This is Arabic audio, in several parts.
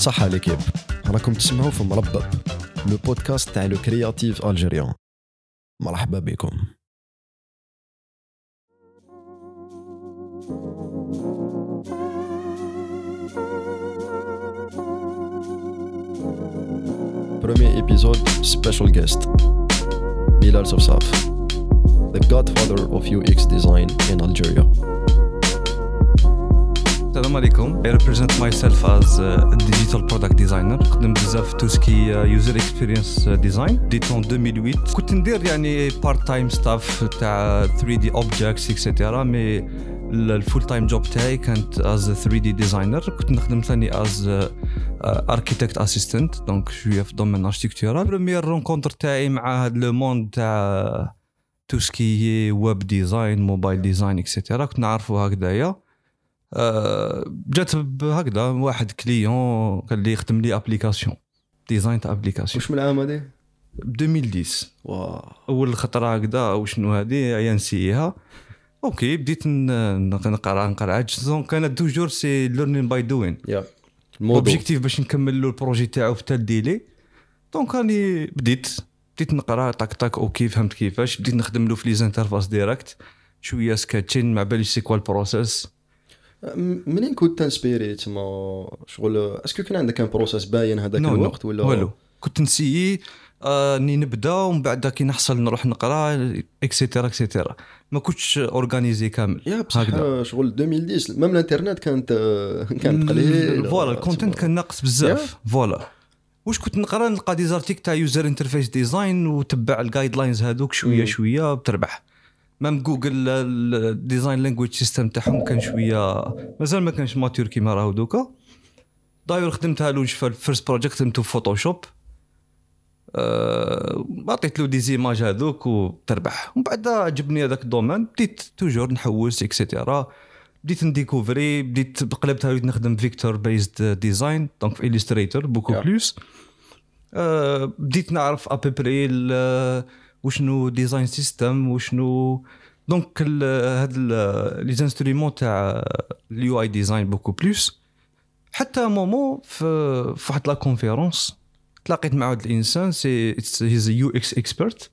صحة ليكيب، راكم تسمعوا في مربب لو بودكاست تاع لو كرياتيف الجيريان. مرحبا بكم. Premier épisode, special guest Bilal Sofsaf, the godfather of UX design in Algeria. السلام عليكم. I represent myself as a digital product designer. خدم بزاف في توسكي user experience design. ديت en 2008. كنت ندير يعني part time staff تاع 3D objects etc. مي الفول تايم جوب تاعي كانت as a 3D designer. كنت نخدم ثاني as architect assistant. دونك شويه في دومين architectural. بريمير رونكونتر تاعي مع هذا لو موند تاع توسكي ويب ديزاين موبايل ديزاين etc. كنت نعرفوا هكذايا. جات هكذا واحد كليون قال لي خدم لي ابليكاسيون ديزاين تاع ابليكاسيون. واش من العام هذه؟ 2010. واو اول خطره هكذا وشنو هذه ينسيها. اوكي بديت نقرا دونك كانت توجور سي ليرنين باي دوين. يا الموضوع اوبجيكتيف باش نكمل له البروجي تاعو في تال ديلي. دونك راني بديت نقرا طاك اوكي فهمت كيفاش بديت نخدم له في لي انترفاس ديريكت شويه سكاتشين مع بالي سي كوا البروسيس. منين كنت تنسبيري تما شغل اسكو كان عندك ان بروسيس باين هذاك الوقت ولا والو؟ كنت نسيي اني نبدا ومن بعد كي نحصل نروح نقرا اكسيتيرا اكسيتيرا. ما كنتش اورغانيزي كامل هكذا. شغل 2010 ميم الانترنت كانت قليل. فوالا الكونتنت كان ناقص بزاف. فوالا واش كنت نقرا نلقى دي زارتيك تاع يوزر انترفيس ديزاين وتبع الجايد لاينز هذوك شويه بتربح. مام جوجل الديزاين لانجويج سيستم تاعهم كان شويه مازال ما كانش ماتور كيما راهو دوكا. داير خدمتها له في الفيرست بروجيكت خدمته في فوتوشوب. عطيت له دي زيماج هذوك وتربح. ومن بعد عجبني هذاك الدومين بديت توجور نحوس اكسيتيرا. بديت نديكوفري بديت قلبتها وليت نخدم فيكتور بيزد ديزاين دونك في إليستريتور بوكو بلوس. بديت نعرف ابري وشنو ديزاين سيستم وشنو دونك هاد لي انسترومون تاع اليو اي ديزاين بوكو بلوس. حتى مومو في واحد لا كونفيرونس تلاقيت مع واحد الانسان سي هيز يو اكس اكسبرت.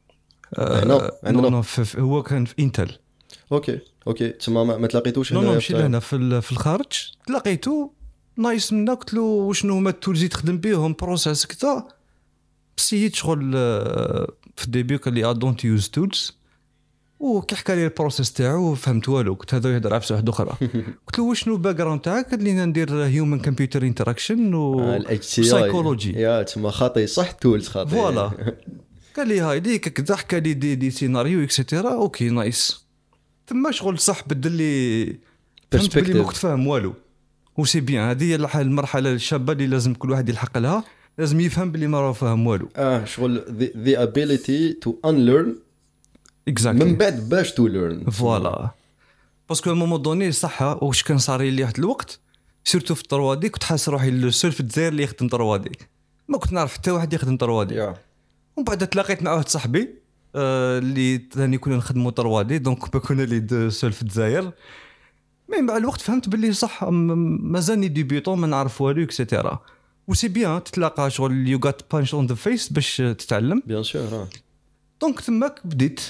هو كان في انتل. اوكي تما ما تلاقيتوش هنا؟ ماشي هنا في الخارج. تلاقيته نايس منا قلت له وشنو هما التولز تخدم بهم بروسيس كذا. بسيت شغل في الديبي قال لي دونت يوز تولز وكي حكى لي البروسيس تاعو فهمت والو. كنت هذا يهضر عفسه واحده اخرى. قلت له وشنو باك جراوند تاعك؟ قال لي ندير هيومن كمبيوتر انتراكشن وسايكولوجي. يا تما خاطي صح تولز خاطي. فوالا قال لي هاي ديك كذا حكى لي دي سيناريو اكسيتيرا. اوكي نايس. ثم شغل صح بدل لي فهمت بلي ما كنت فاهم والو. وسي بيان هذه المرحله الشابه اللي لازم كل واحد يلحق لها. لازم يفهم بلي ما راه فاهم والو. شغل the ability to unlearn exactly. من بعد باش to learn. فوالا باسكو مومون دوني صح واش كان صار لي واحد الوقت سيرتو في الطروادي كنت حاس روحي السول في الجزائر اللي يخدم طروادي. ما كنت نعرف حتى واحد يخدم طروادي. ومن بعد تلاقيت مع واحد صاحبي اللي ثاني كنا نخدموا طروادي دونك كنا لي سول في الجزائر. مي مع الوقت فهمت باللي صح مازالني ديبيوتون ما نعرف والو اكسيتيرا. وسي بيان تتلاقى شغل يو غات بانش اون ذا فيس باش تتعلم بيان سور. دونك تماك بديت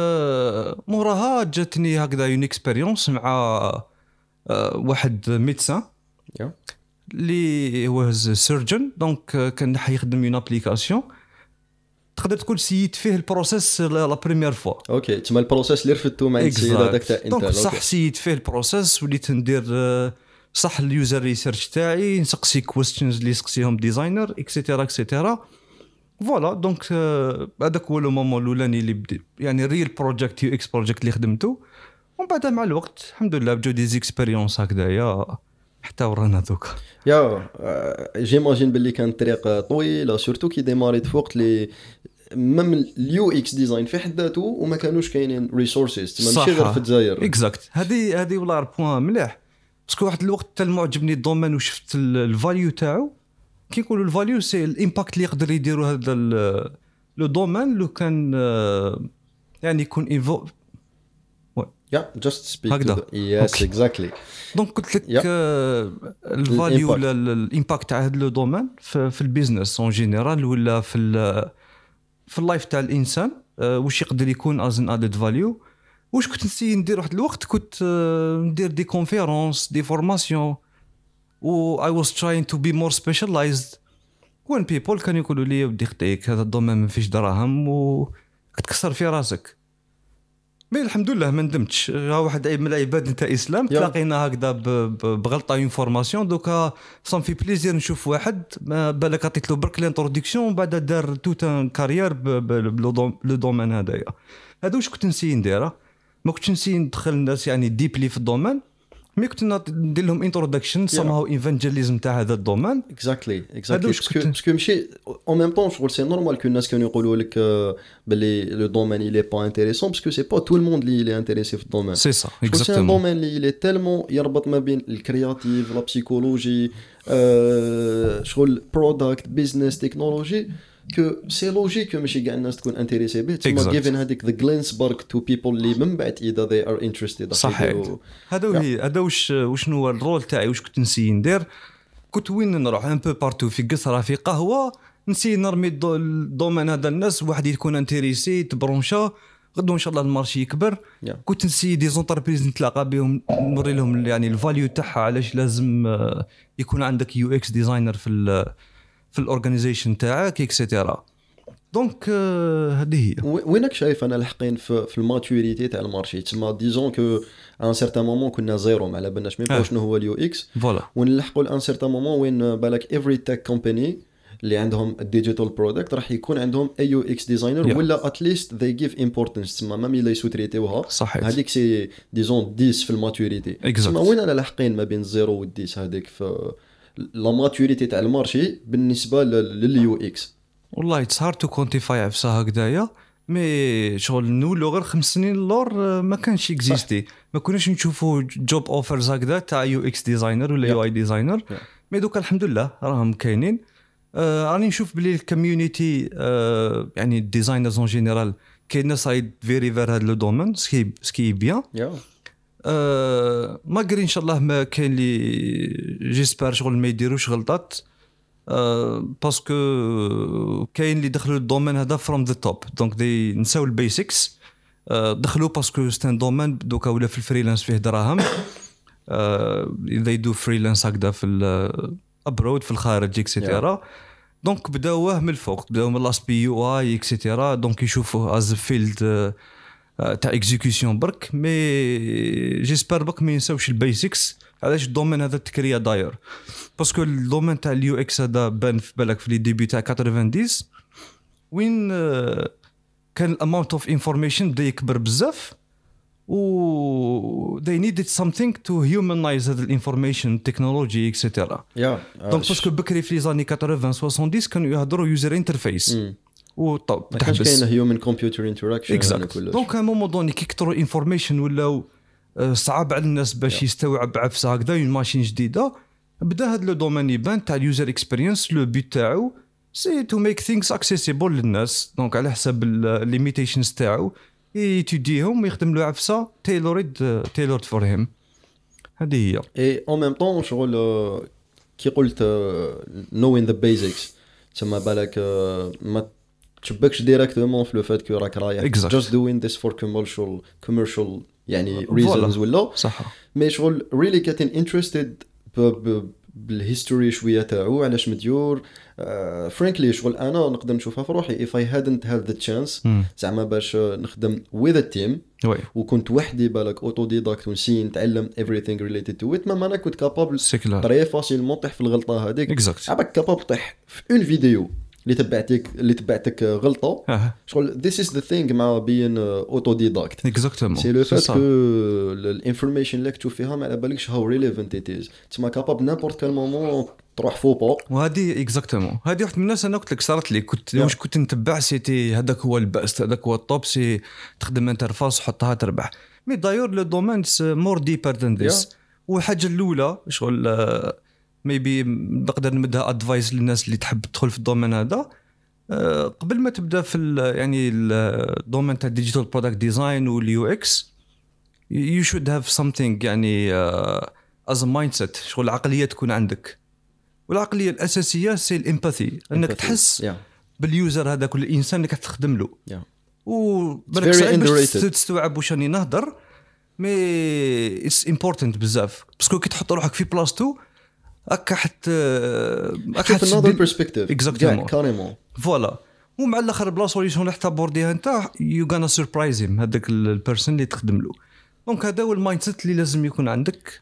موراها جاتني هكذا اون اكسبيريونس مع واحد ميدسان اللي هو سيرجن. دونك كان يخدم اون ابليكاسيون تقدر تقول سيت فيه البروسيس لا بريمير فوا. اوكي تما البروسيس اللي رفدتو مع السيد هذاك تاع انت. دونك صح سيت فيه البروسيس وليت ندير صح اليوزر ريسيرش تاعي نسقسي كويستشنز اللي يسقسيهم ديزاينر اكسيتيرا اكسيتيرا. فوالا دونك هذاك هو لو مومون الاولاني اللي بديت يعني ريل بروجيكت يو اكس بروجيكت اللي خدمته. ومن بعد مع الوقت الحمد لله بجو دي اكسبيريونس هكذايا حتى ورانا دوكا. يا جيماجين باللي كانت طريق طويله سورتو كي ديماريت فوق لي ميم اليو اكس ديزاين في حد ذاته وما كانوش كاينين ريسورسز تما ماشي غير في الجزائر. اكزاكت هذه ولا بوين مليح باسكو واحد الوقت حتى معجبني الدومين وشفت الفاليو تاعو. كي نقولوا الفاليو سي الامباكت اللي يقدر يديروا هذا لو دومين لو كان يعني يكون just speak هكذا. to yes أوكي. exactly. دونك قلت لك Yeah. الفاليو ولا الامباكت تاع هذا لو دومين في البيزنس اون جينيرال ولا في اللايف تاع الانسان، واش يقدر يكون از ان ادد فاليو. واش كنت نسي ندير واحد الوقت كنت ندير دي كونفيرونس دي فورماسيون و I was trying to be more specialized when people كانوا يقولوا لي ودي خطيك هذا الدومين ما فيش دراهم وتكسر في راسك. مي الحمد لله ما ندمتش. ها واحد عيب من العباد نتاع اسلام تلاقينا هكذا بغلطه انفورماسيون. دوكا صام في بليزير نشوف واحد ما بالك عطيت له برك لانتروداكسيون ومن بعد دار توت ان كارير لو دومين هذايا. هذا واش كنت نسي نديره. ما كنتش نسي ندخل الناس يعني ديبلي في الدومين، مي كنت ندير لهم انتروداكشن somehow ايفانجيليزم تاع هذا الدومين. اكزاكتلي باسكو ماشي اون ميم طون شغل سي نورمال كو الناس كانوا يقولوا لك باللي لو دومين il est pas intéressant باسكو سي با تو الموند اللي انتريسي في الدومين. سي سا سي اكزاكتومون دومين اللي تالمون يربط ما بين الكرياتيف لا بسيكولوجي شغل برودكت بيزنس تكنولوجي كو سي لوجيك ماشي كاع الناس تكون انتريسي به تما جيفن هذيك ذا جلينس بارك تو بيبل اللي من بعد اذا they are interested. صحيح. هذا وشنو هو الرول تاعي واش كنت نسي ندير. كنت وين نروح ان بو بارتو في قصره في قهوه نسي نرمي الدومين هذا الناس واحد يكون انتريسي تبرونشا غدو ان شاء الله المارشي يكبر. كنت نسي دي زونتربريز نتلاقى بهم نوري لهم يعني الفاليو تاعها علاش لازم يكون عندك يو اكس ديزاينر في الاورغانيزيشن تاعك اكسيتيرا. دونك هذه هي. وينك شايف انا الحقين في الماتوريتي تاع المارشي تما ديزون كو ان سيرتان مومون كنا زيرو ما على بالناش ميم شنو هو اليو اكس فوالا ونلحقوا لان سيرتان مومون وين بالك افري تك كومباني اللي عندهم الديجيتال برودكت راح يكون عندهم اي يو اكس ديزاينر ولا اتليست ذي جيف امبورتانس تما مام الا يسوتريتيوها. صحيح. هذيك سي ديزون 10 في الماتوريتي تما وين انا لاحقين ما بين 0 و 10 هذيك في لا ماتوريتي تاع المارشي بالنسبه لليو اكس. والله اتس هارد تو كونتيفاي عفسه هكذايا مي شغل نولو غير 5 سنين اللور ما كانش اكزيستي ما كناش نشوفوا جوب اوفرز هكذا تاع يو اكس ديزاينر ولا يو اي ديزاينر. مي دوك الحمد لله راهم كاينين. راني نشوف بلي الكوميونيتي يعني الديزاينرز اون جينيرال كاين ناس رايد فيري فير هذا لو دومين سكي بيان. ما قري ان شاء الله ما كاين لي جيسبر شغل ما يديروش غلطات باسكو كاين اللي دخلوا الدومين هذا فروم ذا توب دونك دي نساو البيسكس دخلوا باسكو ستان دومين دوكا ولا في الفريلانس فيه دراهم اذا يدو فريلانس هكذا في الابرود في الخارج اكسيتيرا. دونك بداوه من الفوق بداو من لاس بي يو اي اكسيتيرا دونك يشوفوا از فيلد تاع اكزيكيوشن برك مي جيسبر بك ما ينساوش البيسكس. علاش الدومين هذا تكريا داير باسكو الدومين تاع اليو اكس هذا بان في بالك في لي ديبي تاع 90 وين كان الاماونت اوف انفورميشن بدا يكبر بزاف و they needed something to humanize هذا الانفورميشن تكنولوجي اكسيتيرا. دونك باسكو بكري في لي زاني 80 70 كانوا يهضروا يوزر انترفيس وطب تحبس كاين هيومن كمبيوتر انتراكشن دونك ا مومون دوني كي كثروا انفورميشن ولاو صعب على الناس باش يستوعب عفسه هكذا اون ماشين جديده. بدا هذا لو دومين يبان تاع اليوزر اكسبيرينس لو بيت تاعو سي تو ميك ثينكس اكسيسيبل للناس دونك على حسب الليميتيشنز تاعو يتديهم ويخدم له عفسه تيلورد فور هيم. هذه هي. اي اون ميم طون شغل كي قلت نوين ذا بيزكس تما بالك ما تشبكش ديريكتومون في لو فات كو راك رايح جاست دوين ذس فور كوميرشال يعني reasons ولا صح. مي شغل really getting interested بالهيستوري شويه تاعو علاش مديور فرانكلي شغل انا نقدر نشوفها في روحي if I hadn't had the chance زعما باش نخدم with a team وكنت وحدي بالك اوتو ديداكت ونسي نتعلم everything related to it ما انا كنت كابابل طري فاسيلمون طيح في الغلطه هذيك عباك كابابل طيح في اون فيديو اللي تبعتك غلطه شغل this is the thing مع بين اوتو ديداكت اكزاكتومون سي لو فات كو الانفورميشن اللي كتشوف فيها ما على بالكش هاو ريليفنت ات از تما كاباب نابورت كال مومون تروح فوبا. وهذه اكزاكتومون هذه واحد من الناس انا قلت لك صارت لي كنت واش كنت نتبع سيتي هذاك هو الباست هذاك هو الطوب سي تخدم انترفاس وحطها تربح مي دايور لو دومين مور ديبر ذان ذيس. والحاجه الاولى شغل ميبي نقدر نمدها ادفايس للناس اللي تحب تدخل في الدومين هذا قبل ما تبدا في يعني الدومين تاع ديجيتال برودكت ديزاين واليو اكس you should have something يعني as a mindset شغل العقلية تكون عندك. والعقلية الأساسية سي الإمباثي أنك تحس باليوزر هذا كل إنسان اللي كتخدم له. وبالك صعيب باش تستوعب واش راني نهضر مي it's important بزاف باسكو كي تحط روحك في بلاصتو هكا حتى another perspective exactement كاريمون فوالا. ومع الاخر بلا سوليوشن اللي حتى بورديها انت يو غانا سربرايز هيم هذاك البيرسون اللي تخدم له. دونك هذا هو المايند سيت اللي لازم يكون عندك.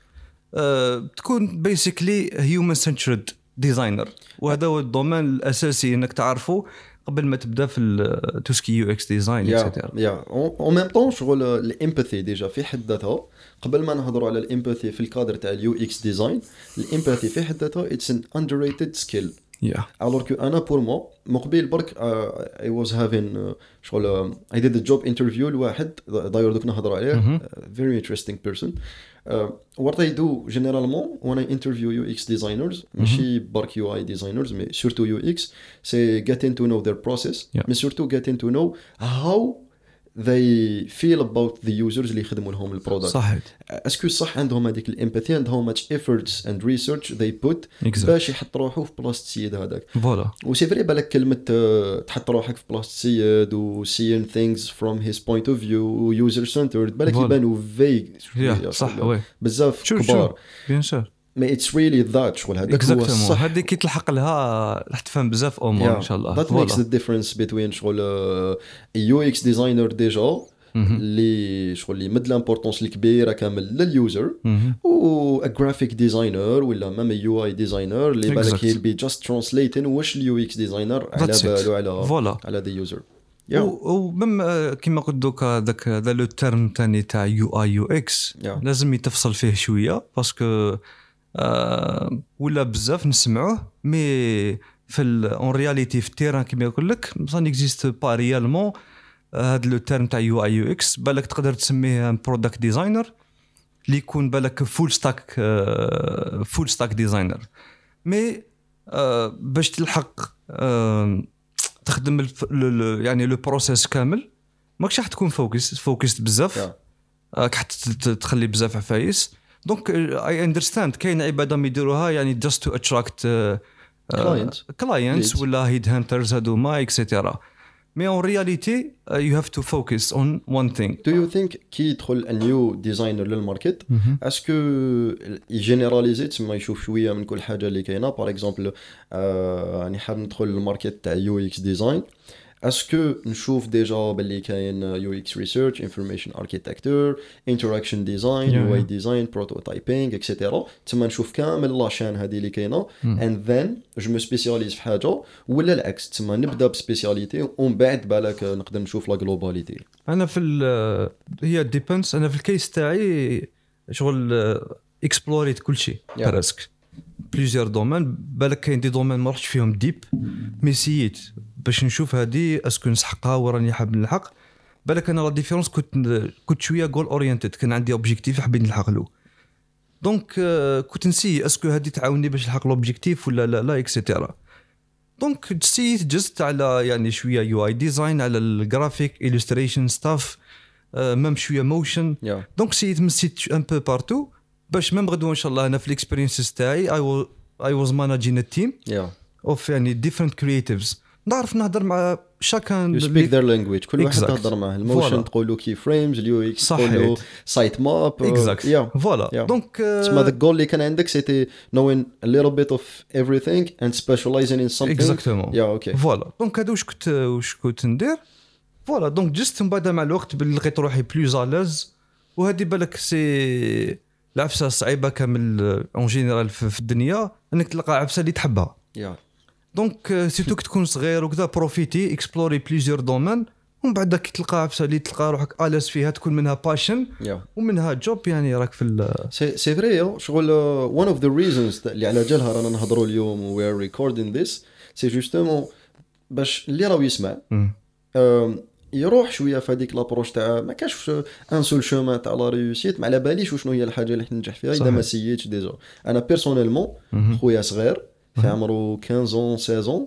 تكون بيسيكلي هيومن سنترد ديزاينر وهذا هو الدومين الاساسي انك تعرفه قبل ما تبدا في توسكي يو اكس ديزاين اكسترا. اون ميم طون شغل الامباثي ديجا في حد ذاتها قبل ما نهضروا على الامباثي في الكادر تاع اليو اكس ديزاين. الامباثي في حد ذاتها اتس ان اندرريتد سكيل. alors que انا pour moi مقبل برك I was having شغل I did a job interview لواحد داير دوك نهضروا عليه very interesting person. what I do généralement when I interview UX designers ماشي برك UI designers mais surtout UX c'est getting to know their process mais surtout getting to know how they feel about the users اللي يخدموا لهم البرودكت. صحيح. اسكو صح عندهم هذيك الامباثي and how much efforts and research they put باش يحط روحه في بلاصه السيد هذاك. فوالا. وسي فري بالك كلمه تحط روحك في بلاصه السيد و seeing things from his point of view user centered بالك يبانوا vague صح بزاف كبار بيان سور ما it's really that شغل هذاك هو الصح. هذيك كي تلحق لها راح تفهم بزاف امور ان شاء الله. that makes the difference between شغل UX designer ديجا اللي شغل اللي مد الامبورطونس الكبيره كامل لليوزر و a graphic designer ولا مام UI designer اللي بالك he'll be just translating واش اليو اكس ديزاينر على باله على the user. ومم كما قلت دوكا هذا لو تيرم ثاني تاع يو اي يو اكس لازم يتفصل فيه شويه باسكو ولا بزاف نسمعوه مي في اون رياليتي في التيران كما يقول لك ما اكزيست با ريالمون. هذا لو تيرم تاع يو اي يو اكس بالك تقدر تسميه برودكت ديزاينر اللي يكون بالك فول ستاك ديزاينر مي باش تلحق تخدم يعني لو بروسيس كامل ماكش راح تكون فوكست بزاف تخلي بزاف عفايس. دونك اي اندرستاند كاين عباده ما يديروها يعني جاست تو اتراكت كلاينتس ولا هيد هانترز هذوما اكسيتيرا مي اون رياليتي يو هاف تو فوكس اون وان ثينغ. دو يو ثينك كي يدخل نيو ديزاينر للماركت اسكو يجينيراليزي تما يشوف شويه من كل حاجه اللي كاينه باغ اكزومبل راني حاب ندخل للماركت تاع يو اكس ديزاين اسكو نشوف ديجا باللي كاين يو اكس ريسيرش انفورميشن اركيتكتور انتراكشن ديزاين يو اي ديزاين بروتوتايبينغ اكسيتيرا تما نشوف كامل لاشين هذه اللي كاينه اند ذن جو مو سبيسياليز في حاجه ولا العكس تما نبدا بسبيسياليتي ومن بعد بالك نقدر نشوف لا جلوباليتي. انا في هي ديبندس انا في الكيس تاعي شغل اكسبلوريت كل شيء براسك بليزيور دومين بالك كاين دي دومين ما رحتش فيهم ديب مي سييت باش نشوف هذه اسكو نسحقها وراني حاب نلحق بالك انا لا ديفيرونس كنت شويه جول اورينتد كان عندي اوبجيكتيف حبيت نلحق له دونك كنت نسي اسكو هذه تعاوني باش نلحق الاوبجيكتيف ولا لا اكسيتيرا. دونك سيت جست على يعني شويه يو اي ديزاين على الجرافيك إليستريشن ستاف ميم شويه موشن دونك سيت مسيت ان بو بارتو باش ميم غدوه ان شاء الله انا في الاكسبيرينس تاعي اي واز ماناجين التيم اوف يعني different creatives نعرف نهضر مع شاكان you speak their language كل واحد تهضر معه الموشن تقولوا كي فريمز اليو اكس تقولوا سايت ماب فوالا دونك تسمى ذا جول اللي كان عندك سيتي knowing a little bit of everything and specializing in something exactly فوالا دونك هذا واش كنت ندير فوالا دونك جست من بعد مع الوقت لقيت روحي بلوز اليز وهذه بالك سي العفسه صعيبه كامل اون جينيرال في الدنيا انك تلقى عفسه اللي تحبها دونك سيرتو كي تكون صغير وكذا بروفيتي اكسبلوري بليزيور دومين ومن بعد كي تلقى عفسه اللي تلقى روحك اليز فيها تكون منها باشن ومنها جوب يعني راك في سي فري شغل one of the reasons اللي على جالها رانا نهضروا اليوم و we are recording this سي جوستومون باش اللي راهو يسمع يروح شويه في هذيك لابروش تاع ما كاش ان سول شومان تاع لا ريوسيت ما على باليش وشنو هي الحاجه اللي ننجح فيها اذا ما سييتش ديجا. انا بيرسونيلمون خويا صغير في عمره 15 16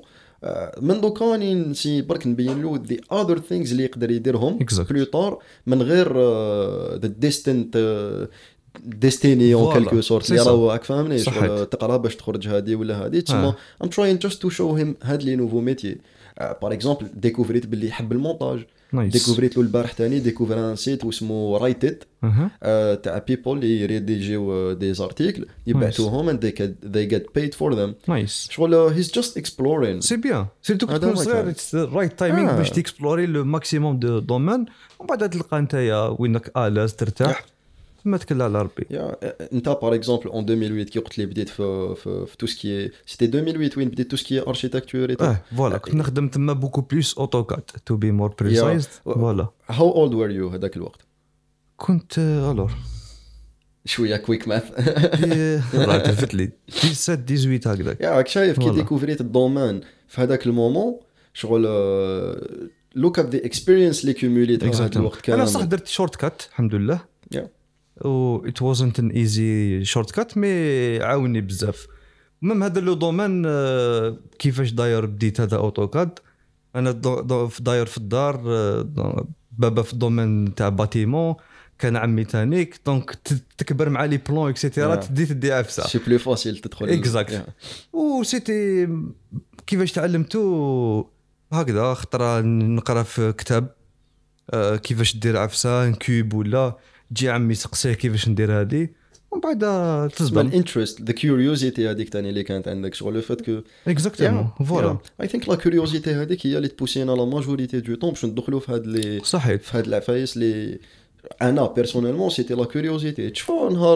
من دوكا نسي برك نبين له the other things اللي يقدر يديرهم بلوطار من غير the distant destiny en quelque sorte اللي راهو راك فاهمني شغل تقرا باش تخرج هذه ولا هذه تسمى I'm trying just to show him هاد لي نوفو ميتي باغ اكزومبل ديكوفريت باللي يحب المونتاج ديكوفريت له البارح ثاني ديكوفر ان سيت واسمه رايتيت تاع بيبل اللي يريديجيو دي زارتيكل يبعثوهم and they get paid for them شغل he's just exploring سي بيان سيرتو كتكون صغير رايت تايمينغ باش تيكسبلوري لو ماكسيموم دو دومين ومن بعد تلقى نتايا وينك الاز ترتاح ما تكل على ربي انت باغ اكزومبل اون 2008 كي قلت لي بديت في تو سكي سيتي 2008 وين بديت تو سكي اركيتكتور اي فوالا كنت نخدم تما بوكو بليس اوتوكاد تو بي مور بريسايز فوالا هاو اولد وير يو هذاك الوقت كنت الور شويه كويك ماث راه تلفت لي 17 18 هكذاك راك شايف كي ديكوفريت الدومين في هذاك المومون شغل لوك اب ذا اكسبيرينس اللي كوموليت هذا الوقت كان انا صح درت شورت كات الحمد لله و it wasn't an easy shortcut مي عاوني بزاف مم هذا لو دومين كيفاش داير بديت هذا اوتوكاد انا داير في الدار بابا في الدومين تاع باتيمون كان عمي تانيك دونك تكبر مع لي بلون اكسيتيرا تدي عفسه سي بلو فاسيل تدخل اكزاكت و سيتي كيفاش تعلمتو هكذا خطره نقرا في كتاب كيفاش دير عفسه كوب ولا جي عمي سقسيه كيفاش ندير هذه ومن بعد تصبر الانترست ذا كيوريوزيتي هذيك ثاني اللي كانت عندك شغل لو فات كو اكزاكتومون فوالا اي ثينك لا كيوريوزيتي هذيك هي اللي تبوسينا لا ماجوريتي دو طون باش ندخلوا في هاد لي صحيح في هاد العفايس اللي انا بيرسونيلمون سيتي لا كيوريوزيتي تشوفوا نهار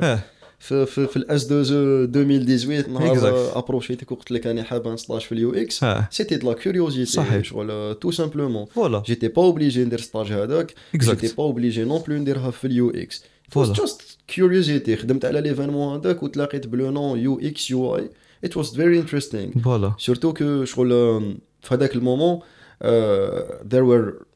في الاس 2 2018 نهار ابروشيتك وقلت لك انا حاب نستاج في اليو اكس سيتي دو لا كيوريوزيتي شغل تو سامبلومون جيتي با اوبليجي ندير ستاج هذاك جيتي با اوبليجي نون بلو نديرها في اليو اكس جاست كيوريوزيتي خدمت على ليفينمون هذاك وتلاقيت بلو نون يو اكس يو اي it was very interesting surtout que شغل في هذاك المومون there were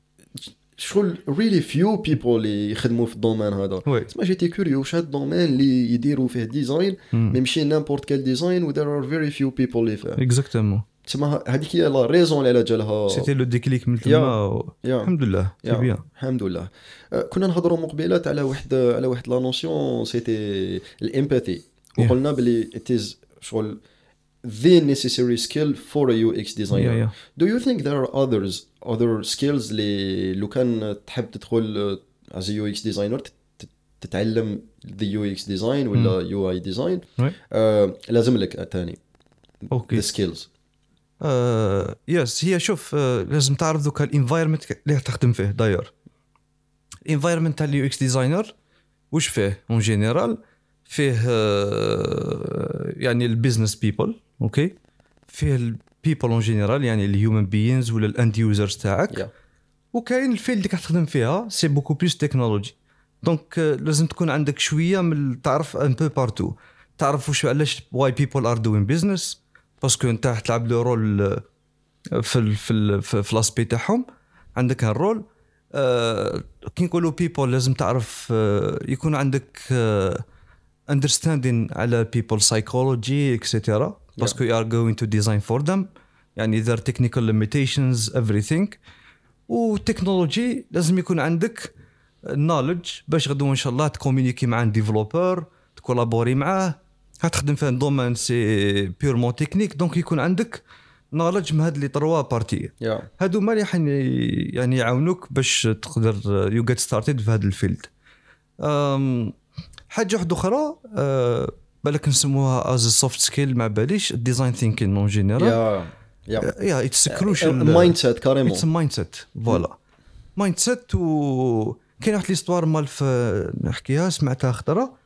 شغل really few people اللي يخدموا في الدومين هذا تسمى جيتي كوريو واش هاد الدومين اللي يديروا فيه ديزاين ماشي نيمبورت كال ديزاين و there are very few people اللي فيه اكزاكتومون تسمى هذيك هي لا ريزون اللي جالها سيتي لو ديكليك من تما الحمد لله بيان الحمد لله كنا نهضروا مقبلات على واحد لا نوسيون سيتي الامباثي وقلنا بلي it is شغل the necessary skill for a UX designer. Do you think there are other skills اللي لو كان تحب تدخل as a UX designer تتعلم the UX design ولا UI design لازم لك ثاني the skills yes هي شوف لازم تعرف ذوك الانفايرمنت اللي تخدم فيه داير الانفايرمنت تاع اليو اكس ديزاينر واش فيه اون جينيرال فيه يعني البيزنس بيبل اوكي فيه البيبل اون جينيرال يعني الهيومن بيينز ولا الاند يوزرز تاعك وكاين الفيلد اللي كتخدم فيها سي بوكو بلوس تكنولوجي دونك لازم تكون عندك شويه من تعرف ان بو بارتو تعرف واش علاش واي بيبل ار دوين بيزنس باسكو انت تلعب لو رول في لاسبي تاعهم عندك هالرول كي نقولوا بيبل لازم تعرف يكون عندك understanding على people psychology etc باسكو you are going to design for them يعني their technical limitations everything وتكنولوجي لازم يكون عندك knowledge باش غدو ان شاء الله تكومونيكي مع ديفلوبر تكولابوري معاه هتخدم في دومين سي بيورمون تكنيك دونك يكون عندك knowledge من هاد لي 3 بارتي هادو ما يعني يعاونوك باش تقدر you get started في هاد الفيلد حاجه واحده اخرى بالك نسموها از سوفت سكيل ما باليش الديزاين ثينكين اون جينيرال يا اتس كروشال مايند سيت كاريمون اتس مايند سيت فوالا مايند سيت و كاين واحد ليستوار مال نحكيها سمعتها خطره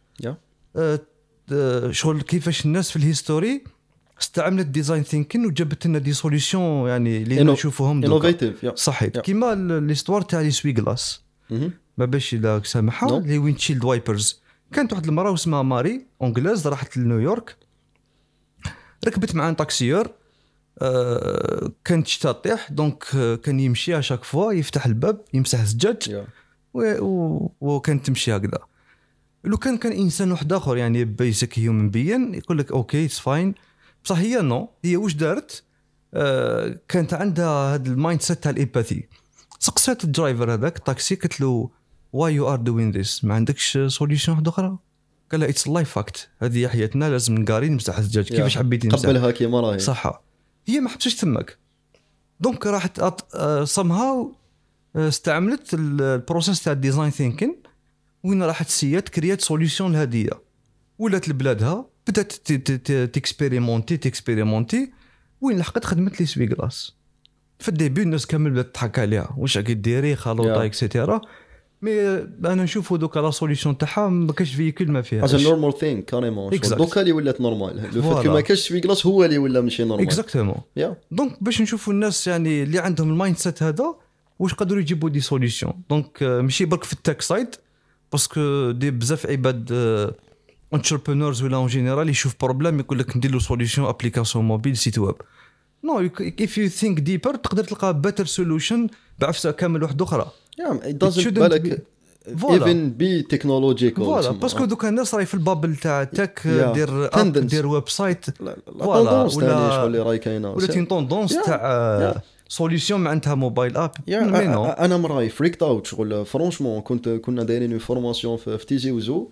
شغل كيفاش الناس في الهيستوري استعملت ديزاين ثينكين وجابت لنا دي سوليوشن يعني اللي نشوفوهم انوفيتيف صحيح كيما ليستوار تاع لي سوي غلاس ما باش الا سامحها لي ويندشيلد وايبرز كانت واحد المراه اسمها ماري اونغلاز راحت لنيويورك ركبت مع طاكسيور كانت شتا طيح دونك كان يمشي اشاك فوا يفتح الباب يمسح الزجاج وكانت تمشي هكذا لو كان انسان واحد اخر يعني بيسك هيومن بيين يقول لك اوكي اتس فاين بصح هي نو هي واش دارت كانت عندها هذا المايند سيت تاع الامباثي. سقسات الدرايفر هذاك الطاكسي قلت له why you are doing this, ما عندكش سوليوشن واحده اخرى؟ قال لها it's life fact, هذه حياتنا لازم نقاري نمسح الزجاج كيفاش حبيتي نمسح قبلها كيما راهي صح. هي ما حبتش تمك دونك راحت somehow استعملت البروسيس تاع الديزاين ثينكين وين راحت سيات كريات سوليوشن لهديه ولات لبلادها بدات تكسبيريمونتي وين لحقت خدمت لي سويغلاس. في الديبي الناس كامل بدات تضحك عليها واش راكي ديري خلوطه اكسيتيرا مي انا نشوفوا دوكا لا سوليوشن تاعها ما كاش فيكول ما فيها از نورمال ثينك كاريمون دوكا اللي ولات نورمال لو فات ما كاش سويغلاس هو اللي ولا ماشي نورمال اكزاكتومون دونك باش نشوفوا الناس يعني اللي عندهم المايند سيت هذا واش قدروا يجيبوا دي سوليوشن. دونك ماشي برك في التك سايد باسكو دي بزاف عباد انتربرونورز ولا اون جينيرال يشوف بروبليم يقول لك ندير له سوليوشن ابليكاسيون موبيل سيت ويب. نو if you think deeper تقدر تلقى better solution بعفسه كامل واحده اخرى. it doesn't بالك even be technological فوالا باسكو دوكا الناس راهي في البابل تاع تك دير اب دير ويب سايت فوالا ولا شغل اللي راهي كاينه ولا تين طوندونس تاع سوليوشن معناتها موبايل اب. انا مراي فريكت اوت شغل فرانشمون كنا دايرين فورماسيون في تيزي وزو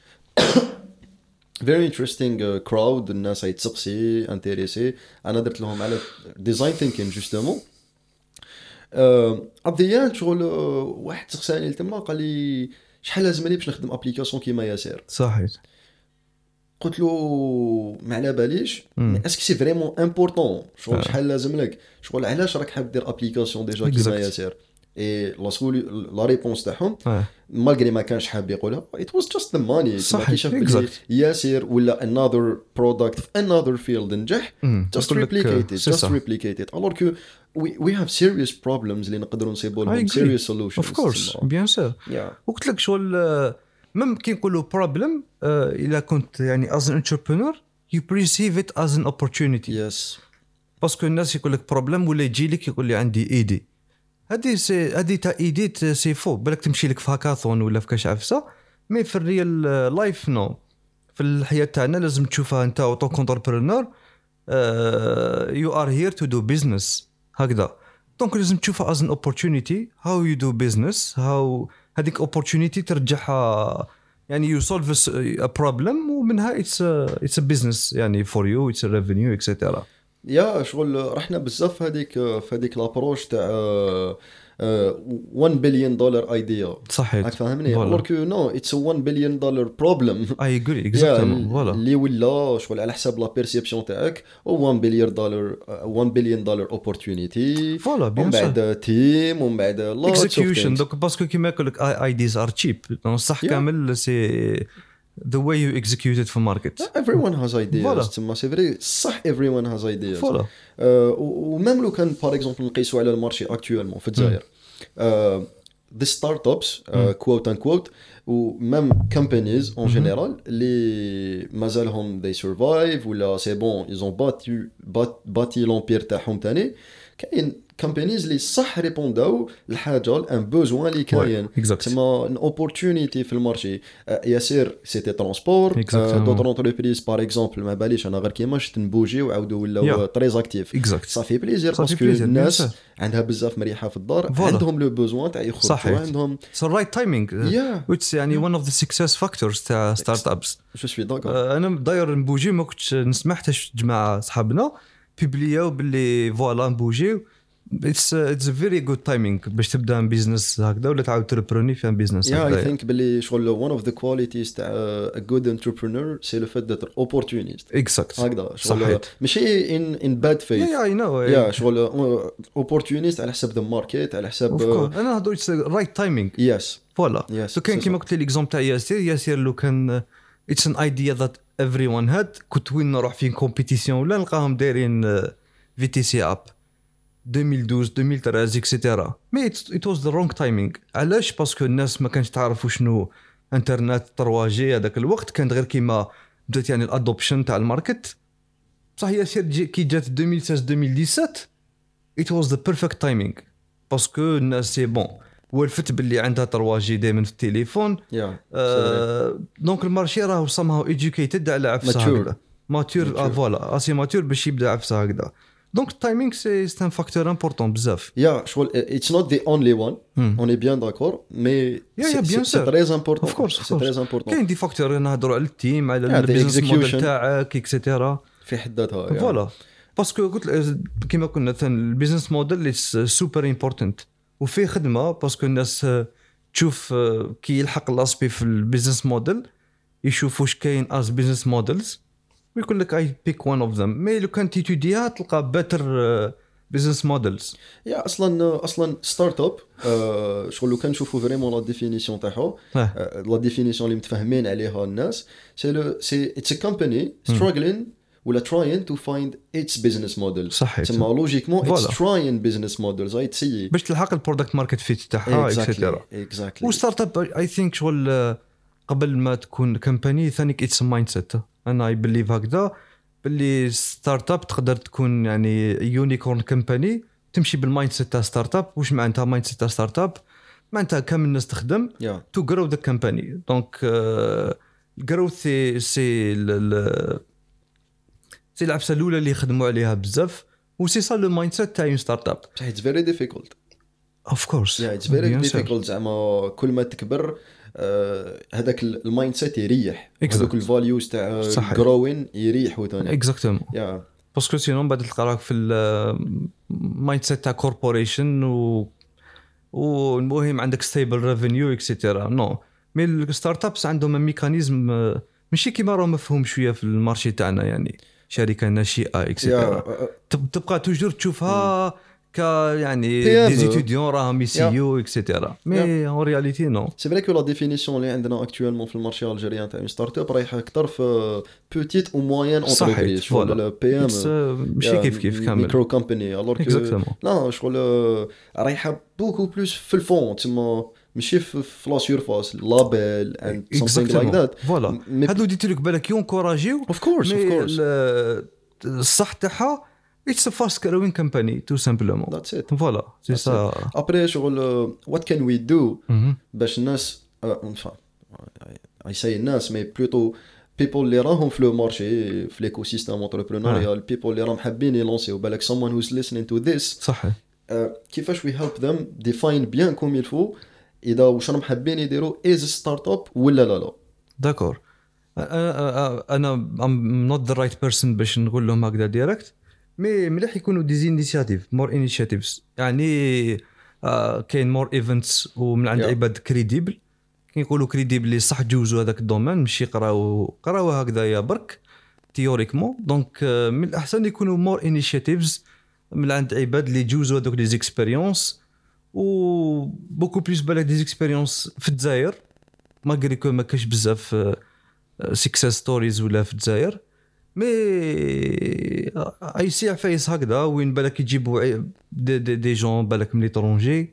very interesting crowd الناس يتسقسي انتريسي. انا درت لهم على ديزاين ثينكين جوستومون ابديان شغل واحد سقساني تما قال لي شحال لازم لي باش نخدم ابليكاسيون كيما ياسر صحيح. قلت له ما على باليش اسكو سي فريمون امبورطون شغل شحال لازم لك شغل علاش راك حاب دير ابليكاسيون ديجا كيما ياسر اي لا ريبونس تاعهم مالغري ما كانش حاب يقولها it was just the money. صحيح ياسر ولا another product في another field نجح just replicate it alors que we have serious problems اللي نقدروا نصيبوا لهم serious solutions of course bien sûr. وقلت لك شغل ممكن نقولوا problem اذا كنت يعني as an entrepreneur you perceive it as an opportunity. yes باسكو الناس يقول لك problem ولا يجي لك يقول لي عندي ايدي هذه تاع ايديت سي فو بالك تمشي لك في هاكاثون ولا في كاش عفسه مي في الريال لايف نو في الحياه تاعنا لازم تشوفها انت اوتو كونتربرونور يو ار هير تو دو بيزنس هكذا. دونك لازم تشوفها از ان اوبورتونيتي هاو يو دو بيزنس هاو هذيك اوبورتونيتي ترجعها يعني يو سولف ا بروبلم ومنها اتس ا بيزنس يعني فور يو اتس ا ريفينيو اكسيتيرا. يا شغل رحنا بزاف هذيك لابروش تاع 1 بليون دولار ايديا صحيح راك فاهمني alors que no it's a 1 billion dollar problem I agree exactly voilà اللي ولا شغل على حساب لا بيرسيبسيون تاعك 1 بليون دولار opportunity فوالا ومن بعد تيم ومن بعد execution دوك باسكو كيما يقول لك ideas are cheap صح كامل سي the way you execute it for market. Everyone has ideas. تما سي فري صح everyone has ideas. ومام لو كان par exemple نقيسوا على المارشي actuellement في الجزائر the startups quote unquote ومام companies en général اللي مازالهم they survive ولا c'est bon ils ont bâti l'empire تاعهم تاني كاين companies اللي صح ريبونداو لحاجه ان بوزوان اللي كاين تسمى ان اوبورتونيتي في المارشي. ياسير سيتي ترونسبور دوطر انتربريز باغ اكزومبل ما باليش انا غير كيما شفت نبوجي وعاودوا ولاو تريز اكتيف صافي بليزير باسكو الناس عندها بزاف مريحه في الدار عندهم لو بوزوان تاع يخرجوا عندهم سو رايت تايمينغ ويتس يعني ون اوف ذا سكسس فاكتورز تاع ستارت ابس. جو سوي داكور انا داير نبوجي ما كنتش نسمع حتى جماعه صحابنا بيبلياو باللي فوالا نبوجي it's a very good timing باش تبدا بيزنس هكذا ولا تعاود تربروني في بيزنس هكذا. I think باللي شغل one of the qualities تاع a good entrepreneur c'est le fait d'être opportuniste. exact هكذا شغل ماشي in bad faith. I know شغل opportunist على حساب the market على حساب انا هضر right timing. yes فوالا سو كان كيما قلت لي ليكزومبل تاع ياسير لو كان it's an idea that everyone had كنت وين نروح في كومبيتيسيون ولا نلقاهم دايرين VTC اب 2012 2013 اكسيتيرا مي it was the wrong timing. علاش؟ باسكو الناس ما كانش تعرفوا شنو انترنت ترواجي هذاك الوقت كانت غير كيما بدات يعني الادوبشن تاع الماركت صح. ياسير كي جات 2016 2017 it was the perfect timing باسكو الناس سي بون ولفت باللي عندها ترواجي دائما في التليفون دونك المارشي راهو somehow educated على عفسه هكذا ماتور فوالا اسي ماتور باش يبدا عفسه هكذا. دونك التايمينغ سي ان فاكتور امبورطون بزاف. يا شغل اتس نوت ذا اونلي وان اون اي بيان داكور مي سي تري امبورطون. اوف كورس سي تري امبورطون. كاين دي فاكتور نهضروا على التيم على البيزنس موديل تاعك اكسيتيرا في حد ذاتها. فوالا باسكو قلت كيما قلنا البيزنس موديل سوبر امبورطنت وفيه خدمه باسكو الناس تشوف كي يلحق الاسبي في البيزنس موديل يشوفوا واش كاين از بيزنس موديلز ويقول لك اي بيك وان اوف ذم. مي لو كان تيتوديها تلقى بيتر بيزنس موديلز. يا اصلا ستارت اب شغل لو كنشوفوا فريمون لا ديفينيسيون تاعها لا ديفينيسيون اللي متفاهمين عليها الناس سي اتس ا كومباني ستراغلين ولا trying to find its business model. صحيح. تما لوجيكمون it's trying business models هاي تسيي باش تلحق البرودكت ماركت فيت تاعها اكسيتيرا. وستارت اب اي ثينك شغل قبل ما تكون كمباني ثاني اتس مايند سيت. انا اي بليف هكذا باللي ستارت اب تقدر تكون يعني يونيكورن كمباني تمشي بالمايند سيت تاع ستارت اب. واش معناتها مايند سيت تاع ستارت اب؟ معناتها كامل الناس تخدم تو جرو ذا كمباني. دونك جروث سي سي العبسه الاولى اللي يخدموا عليها بزاف وسي سا لو مايند سيت تاع ستارت اب. اتس فيري ديفيكولت اوف كورس. اتس فيري ديفيكولت زعما كل ما تكبر هذاك المايند سيت يريح هذوك الفاليوز تاع جروين يريحوا ثاني اكزاكتومون. باسكو سينون بعد تلقى راك في المايند سيت تاع كوربوريشن والمهم عندك ستيبل ريفينيو اكسيتيرا. نو مي الستارت ابس عندهم ميكانيزم ماشي كيما راهو مفهوم شويه في المارشي تاعنا يعني شركه ناشئه اكسيتيرا تبقى توجور تشوفها ك يعني دي ستوديون راهم يسيو اكسيتيرا. مي اون رياليتي نو سي فري كو لا ديفينيسيون اللي عندنا اكطوالمون في المارشي الجيريان تاع ستارت اب رايحه اكثر في بوتيت او موين اونتربريز شغل بي ام ماشي كيف كامل ميكرو كومباني الوغ لا شغل رايحه بوكو بلوس في الفون تما ماشي في لا سيرفاس لابيل اند سامثينغ لايك ذات. فوالا هادو ديتيلك بالك يونكوراجيو اوف كورس الصح تاعها it's a fast growing company tout simplement. That's it. Voilà, c'est ça. Après شغل what can we do باش الناس enfin I say الناس mais plutôt people اللي راهم في لو مارشي في ليكوسيستيم انتربرونوريال people اللي راهم حابين يلونسيو بالك someone who's listening to this صح كيفاش we help them define bien comme il faut إذا واش راهم حابين يديروا is a startup ولا لا. داكور انا I'm not the right person باش نقول لهم هكذا ديريكت مي مليح يكونوا دي انيشيتيف مور انيشيتيفز يعني كاين مور ايفنتس ومن عند عباد كريديبل كيقولوا كريديبل اللي صح جوزوا هذاك الدومين ماشي قراو هكذايا برك تيوريكمون. دونك من الاحسن يكونوا مور انيشيتيفز من عند عباد اللي جوزوا هذوك لي زيكسبيريونس و بوكو بليس بالك دي زيكسبيريونس في الجزائر ماغري كو ما كاش بزاف سكسس ستوريز ولا في الجزائر. مي اي سي عفايس هكذا وين بالك يجيبوا دي جون بالك من ليترونجي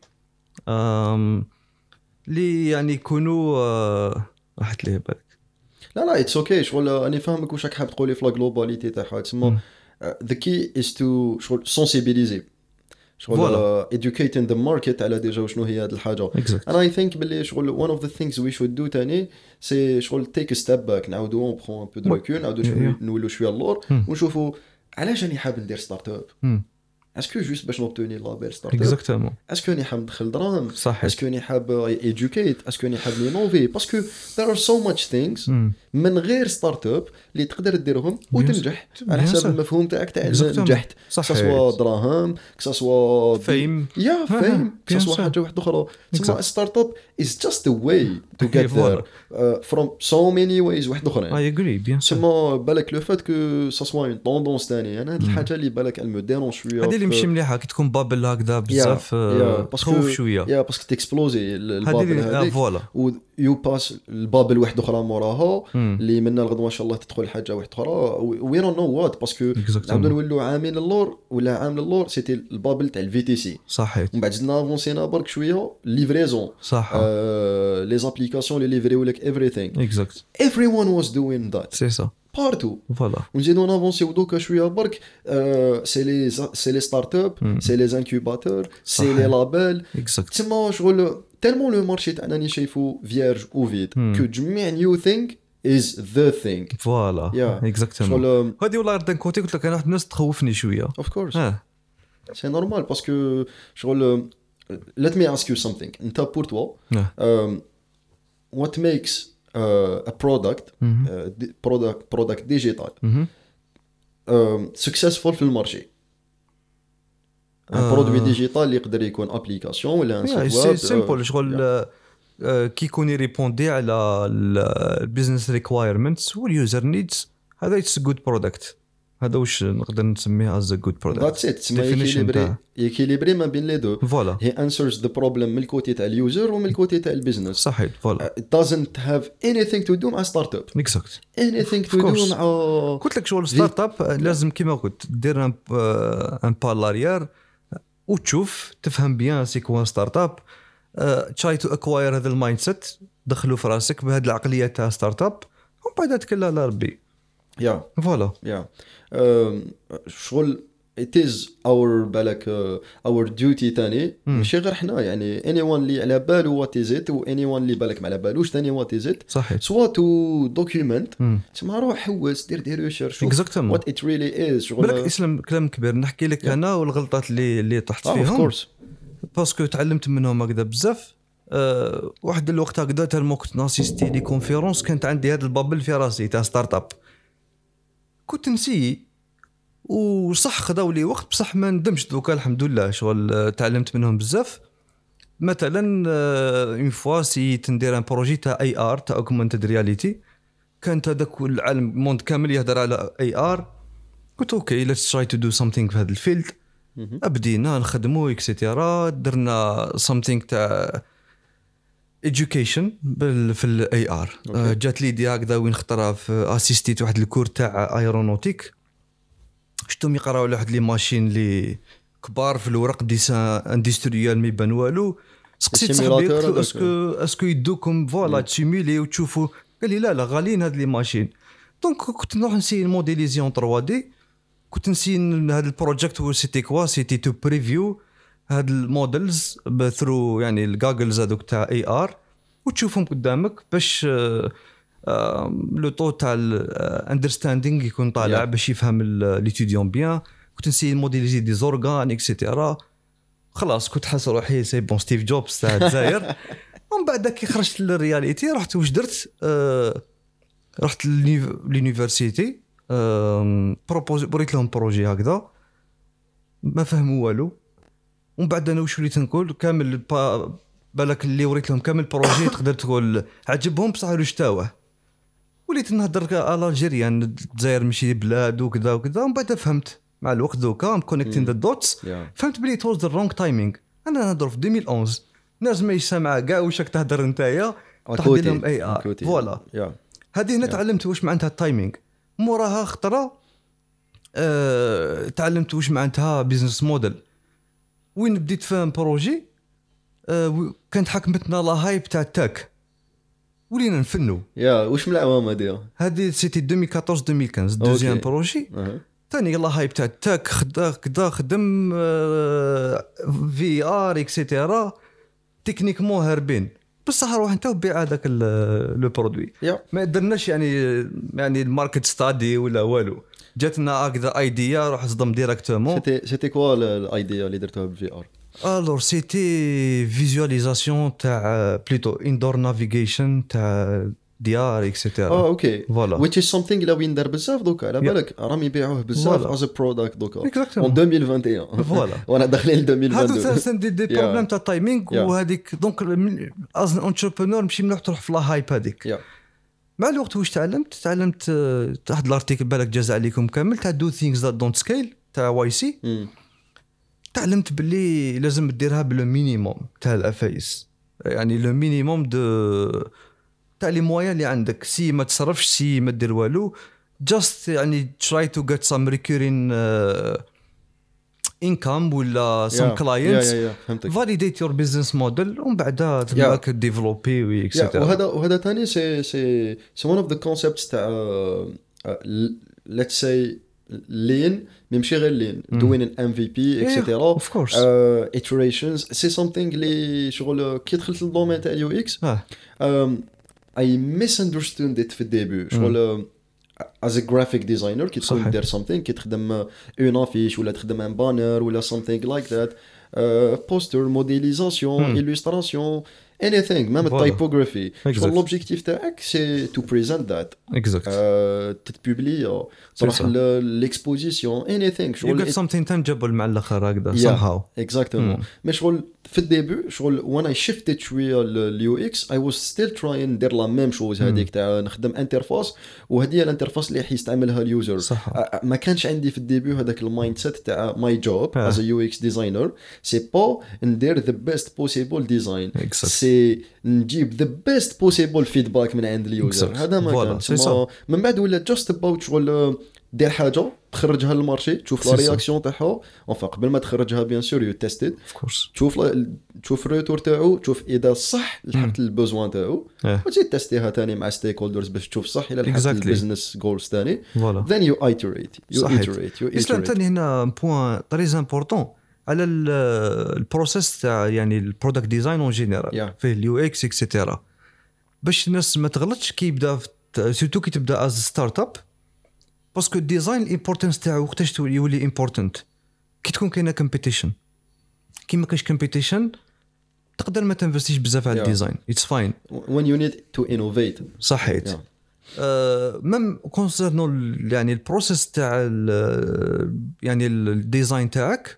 اللي يعني يكونوا راحت ليه بالك. لا اتس اوكي شغل اني فاهمك واش راك حاب تقولي في لا جلوباليتي تاعها تسمى ذا كي از تو شغل سونسيبيليزي شغل educating the market على ديجا شنو هي هذه الحاجه. انا اي ثينك باللي شغل one of the things we should do تاني سي شغل take a step back نعاودو اون برون ان بو دو ريكول نعاودو نولو شويه اللور ونشوفوا علاش راني حاب ندير ستارت اب. اسكو جوست باش نوبتوني لابيل ستارت اب اكزاكتومون اسكو راني حاب ندخل دراهم اسكو راني حاب educate اسكو راني حاب نوفي باسكو there are so much things من غير ستارت اب اللي تقدر ديرهم وتنجح على حسب المفهوم تاعك تاع نجحت سواء دراهم سواء فيم فيم سواء حاجه واحده اخرى. تسمى ستارت اب is just a way to get there from so many ways واحد اخرين. I agree bien sûr. تسمى بالك لو فات كو سا سوا اون طوندونس ثاني انا هاد الحاجه اللي بالك المو ديرون شويه هذه اللي ماشي مليحه كي تكون بابل هكذا بزاف تخوف شويه باسكو تكسبلوزي البابل هذيك فوالا و يو باس البابل واحده اخرى موراها اللي منا الغدوه ان شاء الله تدخل حاجه واحده اخرى وي دون نو وات باسكو نبداو نولوا عامين اللور ولا عام اللور سيتي البابل تاع الفي تي سي صحيح. ومن بعد زدنا افونسينا برك شويه ليفريزون صح لي زابليكاسيون اللي ليفريو لك everything اكزاكت everyone was doing that سي سا بارتو فوالا ونزيدو نافونسيو دوكا شويه برك سي لي ستارت اب سي لي انكوباتور سي لي لابيل تما شغل تالمون لو مارشي تاعنا ني شايفو فيرج او فيد كو جميع نيو ثينك is the thing. فوالا اكزاكتومون. هذه والله دان كوتي قلت لك انا واحد الناس تخوفني شويه. Of course. C'est normal parce que شغل let me ask you something. انت pour toi what makes a product digital successful في المارشي؟ برودوي ديجيتال اللي يقدر يكون ابليكاسيون ولا ان سيت ويب سيمبل شغل كي يكون يريبوندي على البيزنس ريكوايرمنتس واليوزر نيدز. هذا اتس جود برودكت. هذا واش نقدر نسميه از جود برودكت. ذاتس ات. تسمى يكيليبري ما بين لي دو. فوالا هي انسرز ذا بروبلم من الكوتي تاع اليوزر ومن الكوتي تاع البيزنس. صحيح. فوالا it doesn't have anything to do مع ستارت اب. اكزاكت. anything to do مع قلت لك شغل ستارت اب لازم كيما قلت دير ان با لاريير وتشوف تفهم بيان سي كوا ستارت اب. تراي تو اكواير هذا المايند سيت دخلوا في راسك بهذه العقليه تاع ستارت اب ومن بعد تكل على ربي. فوالا شغل it is our بالك our duty تاني ماشي غير حنا يعني anyone اللي على باله what is it و anyone اللي بالك ما على بالوش تاني what is it. صحيح. سوا to document تسمى روح حوس دير ريسيرش what it really is. شغل بالك اسلام كلام كبير نحكي لك انا والغلطات اللي طحت فيهم باسكو تعلمت منهم هكذا بزاف. واحد الوقت هكذا تالمو كنت ناسيستي لي كونفيرونس كانت عندي هذا البابل في راسي تاع ستارت اب كنت نسي وصح خذاو لي وقت بصح ما ندمش دوكا الحمد لله. شغل تعلمت منهم بزاف. مثلا اون فوا سي تندير ان بروجي تاع اي ار تاع اوغمانتد رياليتي كانت هذاك العالم موند كامل يهضر على اي ار. قلت اوكي ليتس تراي تو دو سامثينغ في هذا الفيلد. بدينا نخدمو اكسيتيرا درنا سامثينغ تاع education في الاي ار. جات لي دي هكذا وين خطرها في اسيستيت واحد الكور تاع ايرونوتيك شفتهم يقراو واحد لي ماشين لي كبار في الورق ديسان اندستريال ما يبان والو. سقسيت صاحبي اسكو يدوكم فوالا تسيمولي وتشوفوا قال لي لا غاليين هاد لي ماشين. دونك كنت نروح نسي الموديليزيون 3 دي. كنت نسي هذا البروجيكت هو سيتي كوا سيتي تو بريفيو هاد المودلز ثرو يعني الجاجلز هذوك تاع اي ار وتشوفهم قدامك باش لو توتال اندرستاندينغ يكون طالع باش يفهم ليتيديون بيان. كنت نسي الموديليزي دي زورغان اكسيتيرا. خلاص كنت حاس روحي سي بون ستيف جوبز تاع الجزائر. ومن بعد كي خرجت للرياليتي رحت واش درت رحت لليونيفرسيتي بريت لهم بروجي هكذا ما فهموا والو. ومن بعد انا واش وليت نقول كامل بالك اللي وريت لهم كامل بروجي تقدر تقول عجبهم بصح رشتاوه. وليت نهضر على الجيريان الجزائر ماشي بلاد وكذا وكذا. ومن بعد فهمت مع الوقت دوكا ام كونيكتين ذا دوتس. فهمت بلي توز ذا رونغ تايمينغ. انا نهضر في 2011 الناس ما يسمع كاع واش راك تهضر نتايا تحدي لهم اي ار. فوالا هذه هنا تعلمت واش معناتها التايمينغ. موراها خطره تعلمت واش معناتها بيزنس موديل. وين بديت فهم بروجي كانت حكمتنا لا هايب تاع التاك ولينا نفنوا. واش من العوام هذه سيتي 2014 2015 دوزيام بروجي ثاني لا هايب تاع التاك كدا خدم في ار اكسيتيرا تكنيكمون هربين بصح روح انت وبيع هذاك لو برودوي. ما درناش يعني الماركت ستادي ولا والو. جاتنا هكذا ايديا روح صدم ديريكتومون. سيتي كوا الايديا اللي درتوها بالفي ار؟ الور سيتي فيزواليزاسيون تاع بليتو اندور نافيغيشن تاع ديار اكسيتيرا. اوكي فوالا which is something اللي وين دار بزاف دوكا على بالك راهم يبيعوه بزاف از برودكت دوكا اون 2021 فوالا وانا داخلين ل 2022. هادو سان دي بروبليم تاع تايمينغ وهذيك دونك از انتربرونور ماشي مليح تروح في لا هايب هذيك. مع الوقت واش تعلمت واحد الارتيكل بالك جاز عليكم كامل تاع دو ثينكس ذات دونت سكيل تاع واي سي. تعلمت باللي لازم ديرها بالمينيموم تاع الافايس يعني لو مينيموم دو تاع لي مويا اللي عندك. سي ما تصرفش سي ما دير والو جاست يعني try to get some recurring income ولا some clients validate your business model ومن بعدها تبقى ديفلوبي وإكسيتيرا. وهذا ثاني سي one of the concepts تاع let's say lean ماشي غير lean doing an MVP etc. iterations c'est something اللي شغل كي دخلت للدومين تاع اليو اكس I misunderstood it في الديبي شغل as a graphic designer كي تكون دير something كي تخدم اون affiche ولا تخدم ان بانر ولا something like that poster modélisation illustration anything même typography l'objectif تاعك c'est to present that exact تتبوبلي تروح l'exposition anything you get something tangible مع الاخر هكذا somehow exactement mais شغل في الديبي شغل when I shifted شويه لليو اكس I was still trying ندير لا ميم شوز هذيك تاع نخدم انترفاس وهذه الانترفاس اللي يستعملها اليوزر ما كانش عندي في الديبي هذاك المايند سيت تاع ماي جوب as a UX designer c'est pas ندير the best possible design سي نجيب the best possible feedback من عند اليوزر هذا ما كانش من بعد ولا just about شغل دير حاجه تخرجها للمارشي تشوف لا رياكسيون تاعها اونفا قبل ما تخرجها بيان سور يو تيستد تشوف الريتور تاعو تشوف اذا صح لحقت البوزوان تاعو وتزيد تيستيها ثاني مع ستيك هولدرز باش تشوف صح الى لحقت البيزنس جولز ثاني then you iterate اسلام ثاني هنا بوين تري امبورطون على البروسيس تاع يعني البرودكت ديزاين اون جينيرال فيه اليو اكس اكسيتيرا باش الناس ما تغلطش كي يبدا سورتو كي تبدا از ستارت اب باسكو الديزاين الامبورتانس تاعو وقتاش يولي امبورتانت كي تكون كاينه كومبيتيشن كي ما كاينش كومبيتيشن تقدر ما تنفستيش بزاف على الديزاين اتس فاين when you need to innovate صحيت ميم كونسيرنو يعني البروسيس تاع يعني الديزاين تاعك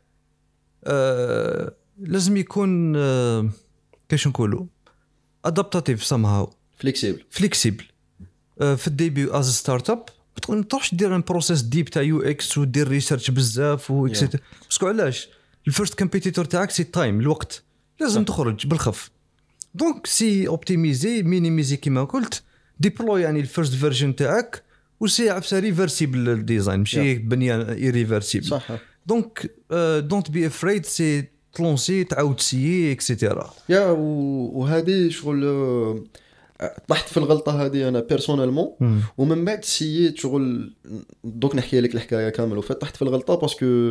لازم يكون كيش نقولوا ادابتاتيف somehow فليكسيبل في الديبي از ستارت اب ما تروحش دير ان بروسيس ديب تاع يو اكس ودير ريسيرش بزاف واكسيت باسكو علاش الفيرست كومبيتيتور تاعك سي تايم الوقت لازم تخرج بالخف دونك سي اوبتيميزي مينيميزي كيما قلت ديبلوي يعني الفيرست فيرجن تاعك وسي عفسه ريفرسيبل الديزاين ماشي بنيه ايريفرسيبل صح دونك دونت بي افريد سي تلونسي تعاود سيي اكسيتيرا وهذه شغل طحت في الغلطه هذه انا بيرسونيلمون ومن بعد سييت شغل دوك نحكي لك الحكايه كامل وفتحت في الغلطه باسكو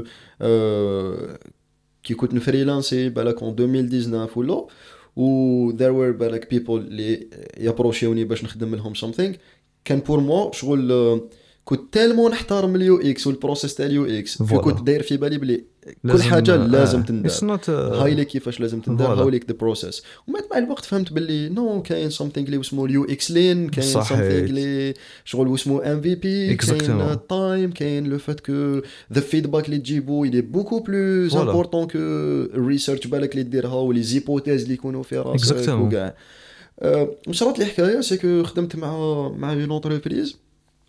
كي كنت نفريلانسي بالك اون 2019 ولا و there were بالك people اللي يابروشيوني باش نخدم لهم something كان بور مو شغل كنت تالمون نحترم اليو اكس والبروسيس تاع اليو اكس كنت داير في بالي بلي كل حاجه لازم تندار هاي لي كيفاش لازم تندار هاو ليك ذا بروسيس ومع الوقت فهمت باللي نو كاين سامثينغ اللي اسمه اليو اكس لين كاين سامثينغ اللي شغل اسمه ام في بي كاين تايم كاين لو فات كو ذا فيدباك اللي تجيبو يلي بوكو بلوز امبورطون كو الريسيرش بالك اللي ديرها ولي زيبوتيز اللي يكونوا في راسك وكاع مشرات لي حكايه سي كو خدمت مع اون انتربريز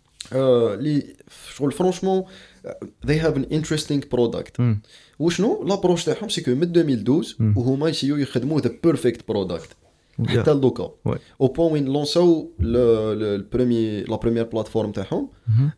لي شغل فرانشمون they have an interesting product وشنو لابروش تاعهم سي كو من 2012 وهما يسيو يخدموا the perfect product حتى لوكا او بوين وين لونساو لا بريمير بلاتفورم تاعهم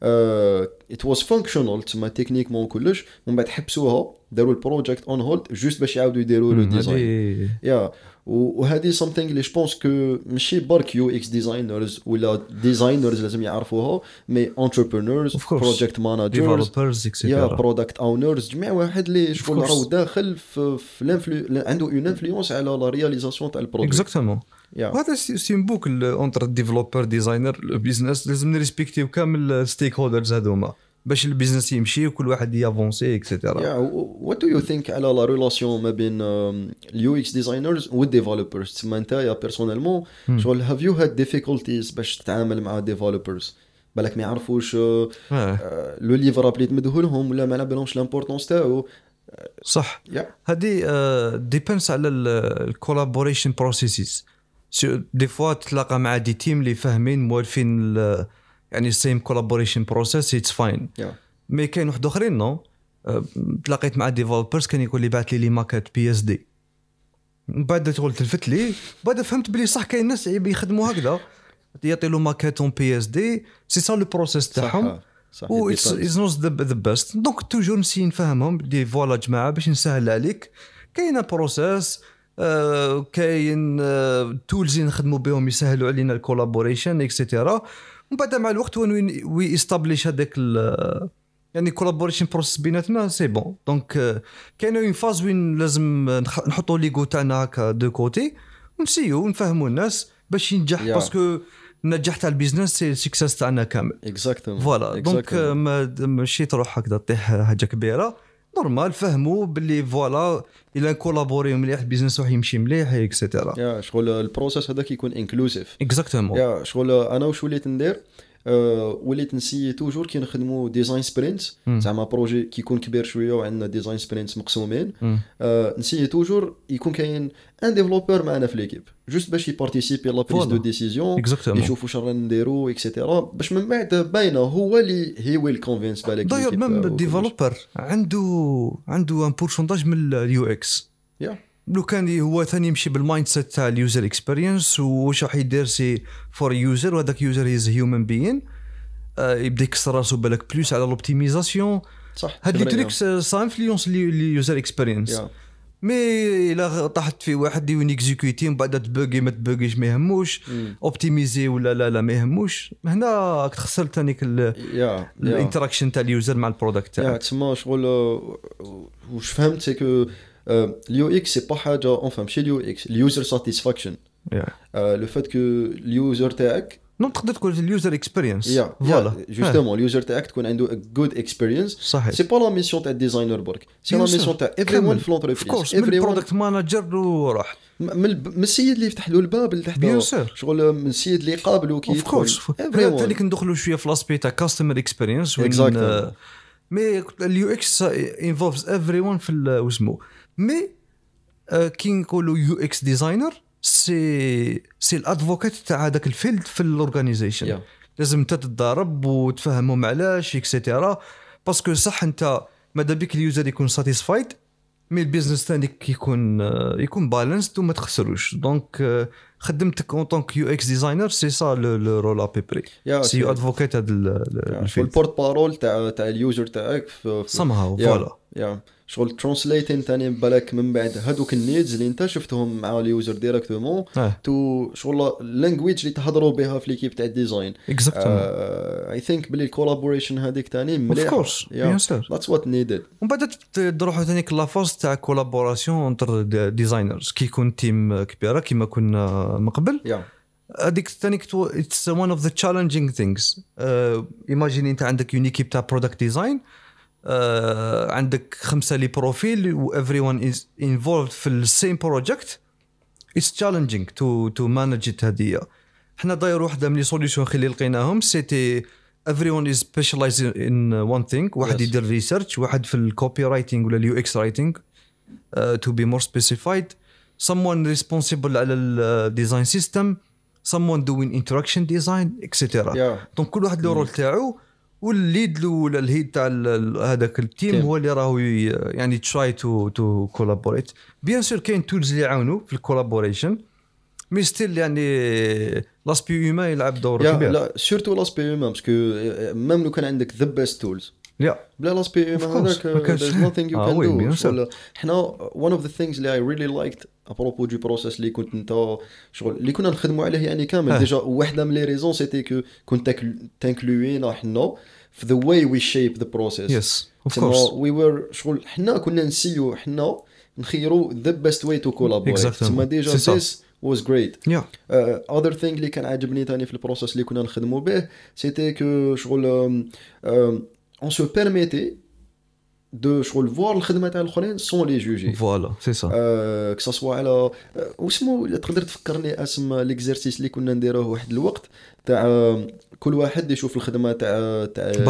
it was functional تما تكنيكمون كلش ومن بعد حبسوها داروا البروجيكت اون هولد جوست باش يعاودوا يديروا لو ديزاين وهذه something اللي جو بونس كو ماشي برك يو اكس ديزاينرز ولا ديزاينرز لازم يعرفوها مي انتربرينورز بروجيكت مانجرز برودكت اونرز جميع واحد اللي شغل راهو داخل في عنده اون انفلونس على لا رياليزاسيون تاع البروجيكت اكزاكتومون هذا سيمبوك اونتر ديفلوبر ديزاينر البيزنس لازم نريسبكتيو كامل الستيك هولدرز هذوما باش البيزنس يمشي وكل واحد يافونسي اكسيتيرا. وات دو يو ثينك على لا ريلاسيون ما بين اليو اكس ديزاينرز والديفلوبرز؟ تسمى انت يا بيرسونيلمون شغل هاف يو هاد ديفيكولتيز باش تتعامل مع ديفلوبرز بالك ما يعرفوش لو ليفرابل اللي تمدوه لهم ولا ما على بالهمش لامبورطونس تاعو؟ صح. هذه ديبينس على الكولابوريشن بروسيسز. دي فوا تلاقى مع دي تيم اللي فاهمين موالفين يعني سيم كولابوريشن بروسيس اتس فاين. مي كاين واحد اخرين نو تلاقيت مع ديفلوبرز كان يقول لي بعث لي ماكيت بي اس دي بعد تقول تلفت لي بعد فهمت بلي صح كاين ناس يخدموا هكذا يعطي له ماكيت اون بي اس دي سي سا لو بروسيس تاعهم و اتس نوت ذا بيست. دونك توجور نسي نفهمهم دي فوالا جماعه باش نسهل عليك كاينه بروسيس كاين تولز نخدموا بهم يسهلوا علينا الكولابوريشن اكسيتيرا. ومن بعد مع الوقت وي استابليش هذاك يعني كولابوريشن بروسيس بيناتنا سي بون. دونك كاينه اون فاز وين لازم نحطوا ليغو تاعنا هكا دو كوتي ونسيو نفهموا الناس باش ينجح باسكو النجاح تاع البيزنس سي سكسس تاعنا كامل اكزاكتومون فوالا دونك ماشي تروح هكذا طيح حاجه كبيره نورمال فهموا باللي فوالا الى كولابوري مليح البيزنس راح يمشي مليح اكسيتيرا يا شغل البروسيس هذاك يكون انكلوزيف اكزاكتومون يا شغل انا واش وليت ندير وليت نسيي توجور كي نخدموا ديزاين سبرينتس زعما بروجي كيكون كبير شويه وعندنا ديزاين سبرينتس مقسومين نسيي توجور يكون كاين ان ديفلوبر معنا في ليكيب جوست باش يبارتيسيبي لا بريز دو ديسيزيون يشوفوا واش رانا نديروا اكسيتيرا باش من بعد باينه هو اللي هي ويل كونفينس بالك داير ميم الديفلوبر عنده ان بورسونتاج من اليو اكس لو كان هو ثاني يمشي بالمايند سيت تاع اليوزر اكسبيرينس واش راح يدير سي فور يوزر وهذاك يوزر هيز هيومن بين يبدا يكسر راسو بالك بلوس على لوبتيميزاسيون صح هاد لي تريكس سا انفلونس اليوزر اكسبيرينس مي الا طاحت في واحد يون اكزيكوتي من بعد تبوغي ما تبوغيش ما يهموش اوبتيميزي ولا لا ما يهموش هنا تخسر ثاني الانتراكشن تاع اليوزر مع البرودكت تاعك تسمى شغل واش فهمت سي كو اليو اكس سي با حاجه اون فهم شي اليو اكس اليوزر ساتيسفاكشن لو فات كو اليوزر تاعك تقدر تقول اليوزر اكسبيرينس فوالا جوستومون اليوزر تاعك تكون عنده جود اكسبيرينس سي با لا ميسيون تاع الديزاينر برك سي لا ميسيون تاع ايفريون في لونتربريز ايفريون برودكت مانجر وراح من السيد اللي يفتح له الباب لتحت شغل من السيد اللي يقابلو كي ثاني كندخلوا شويه في لاسبي تاع كاستمر اكسبيرينس مي اليو اكس انفولفز ايفريون في واسمو مي كي نقولوا يو اكس ديزاينر سي الادفوكات تاع هذاك الفيلد في الاورغانيزيشن لازم تتدرب وتفهمهم علاش اكسيتيرا باسكو صح انت ماذا بك اليوزر يكون ساتيسفايد مي البيزنس تاعك يكون بالانسد وما تخسروش دونك خدمتك اون طونك يو اكس ديزاينر سي سا لو رول ابيبري سي ادفوكات هذا الفيلد البورت بارول تاع اليوزر تاعك سمها فوالا شغل ترانسليتين تاني بالك من بعد هذوك النيدز اللي انت شفتهم مع اليوزر ديريكتومون تو شغل اللانجويج اللي تهضروا بها في ليكيب تاع الديزاين اكزاكتومون اي ثينك بلي الكولابوريشن هذيك تاني مليح اوف كورس بيان سور ذاتس وات نيدد ومن بعد تروحوا ثاني لا فاز تاع كولابوراسيون انتر ديزاينرز كي يكون تيم كبيره كيما كنا من قبل هذيك ثاني اتس وان اوف ذا تشالنجينغ ثينجز ايماجين انت عندك يونيكيب تاع برودكت ديزاين عندك 5 لي بروفيل و everyone is involved في السيم بروجكت it's challenging to manage it هذه حنا داير واحده من لي سوليوشن اللي لقيناهم سيتي everyone is specialized in one thing واحد يدير ريسيرش واحد في الكوبي رايتنج ولا اليو اكس رايتنج to be more specified someone responsible على الديزاين سيستم someone doing interaction design etc دونك كل واحد له رول تاعو والليد ولا الهيد تاع هذاك التيم هو اللي راهو يعني تراي تو كولابوريت بيان سور كاين تولز اللي يعاونوا في الكولابوريشن مي ستيل يعني لاسبي هيومان يلعب دور كبير لا سورتو لاسبي هيومان باسكو ميم لو كان عندك ذا بيست تولز بلا لاسبي هيومان هذاك there's nothing you can do حنا one of the things اللي I really liked ابروبو دو بروسيس اللي كنت انت شغل اللي كنا نخدموا عليه يعني كامل ديجا واحده من لي ريزون سيتي كو كنت تانكلوينا حنا في the way we shape the process yes of course we were شغل حنا كنا نسيو حنا نخيروا the best way to collaborate تما ديجا this was great other thing اللي كان عاجبني ثاني في البروسيس اللي كنا نخدموا به سيتي كو شغل on se permettait de شغل voir الخدمه تاع الاخرين سون لي جوجي فوالا سي سا كسا سوا على واسمو تقدر تفكرني اسم ليكزيرسيس اللي كنا نديروه واحد الوقت تاع كل واحد يشوف الخدمه تاع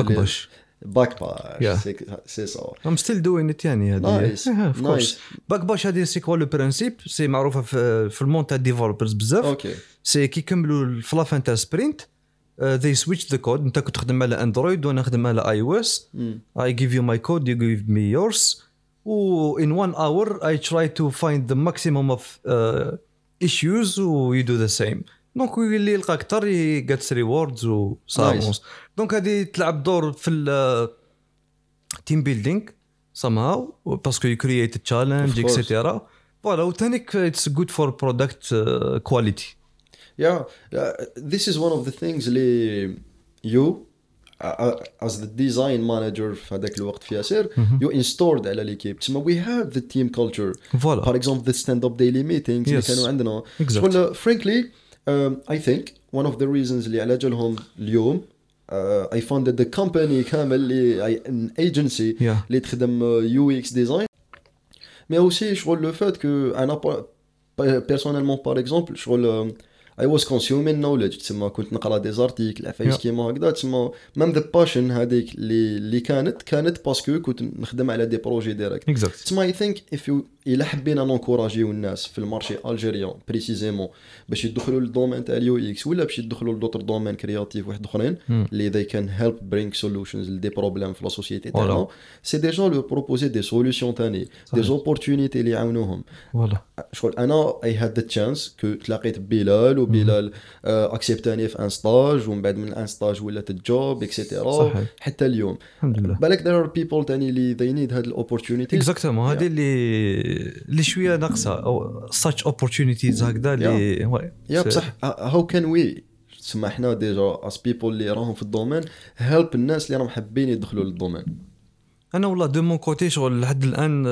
باك باش سي سا I'm still doing it يعني هذه نايس باك باش هذه سي كوا لو برينسيپ سي معروفه في المون تاع ديفلوبرز بزاف اوكي سي كي كملوا في لافان تاع سبرينت they switch the code انت كنت تخدم على اندرويد وانا نخدم على اي او اس I give you my code you give me yours in 1 hour I try to find the maximum of issues و you do the same دونك اللي يلقى اكثر gets rewards و صاموس دونك هذه تلعب دور في team building somehow parce que you create a challenge etc voilà وثانيك it's good for product quality this is one of the things اللي you as the design manager في هذاك الوقت في ياسر you installed على ليكيب تسمى we have the team culture voilà. for example the stand up daily meetings اللي كانوا عندنا شغل frankly I think one of the reasons اللي على جالهم اليوم I founded the company كامل اللي an agency اللي تخدم UX design mais aussi شغل le fait que أنا personnellement par exemple شغل I was consuming knowledge تسمى كنت نقرا دي زارتيكل عفايس كيما هكذا تسمى مام ذا باشن هذيك اللي كانت باسكو كنت نخدم على دي بروجي ديريكت تسمى اي ثينك اف الا حبينا نونكوراجيو الناس في المارشي الجيريان بريسيزيمون باش يدخلوا للدومين تاع اليو اكس ولا باش يدخلوا لدوتر دومين كرياتيف واحد اخرين اللي they can help bring solutions لدي بروبليم في لا سوسيتي تاعنا سي ديجا لو بروبوزي دي سوليوشن ثاني دي زوبورتونيتي اللي يعاونوهم شغل انا اي هاد ذا تشانس كو تلاقيت ببلال وبلال اكسبتاني في ان ستاج ومن بعد من ان ستاج ولات الجوب اكسيتيرا حتى اليوم الحمد لله بالك there are people تاني اللي they need هاد الاوبورتونيتي اكزاكتومون هذه اللي شويه ناقصه او such opportunities هكذا اللي يا بصح how can we سمحنا ديجا as people اللي راهم في الدومين help الناس اللي راهم حابين يدخلوا للدومين انا والله دو مون كوتي شغل لحد الان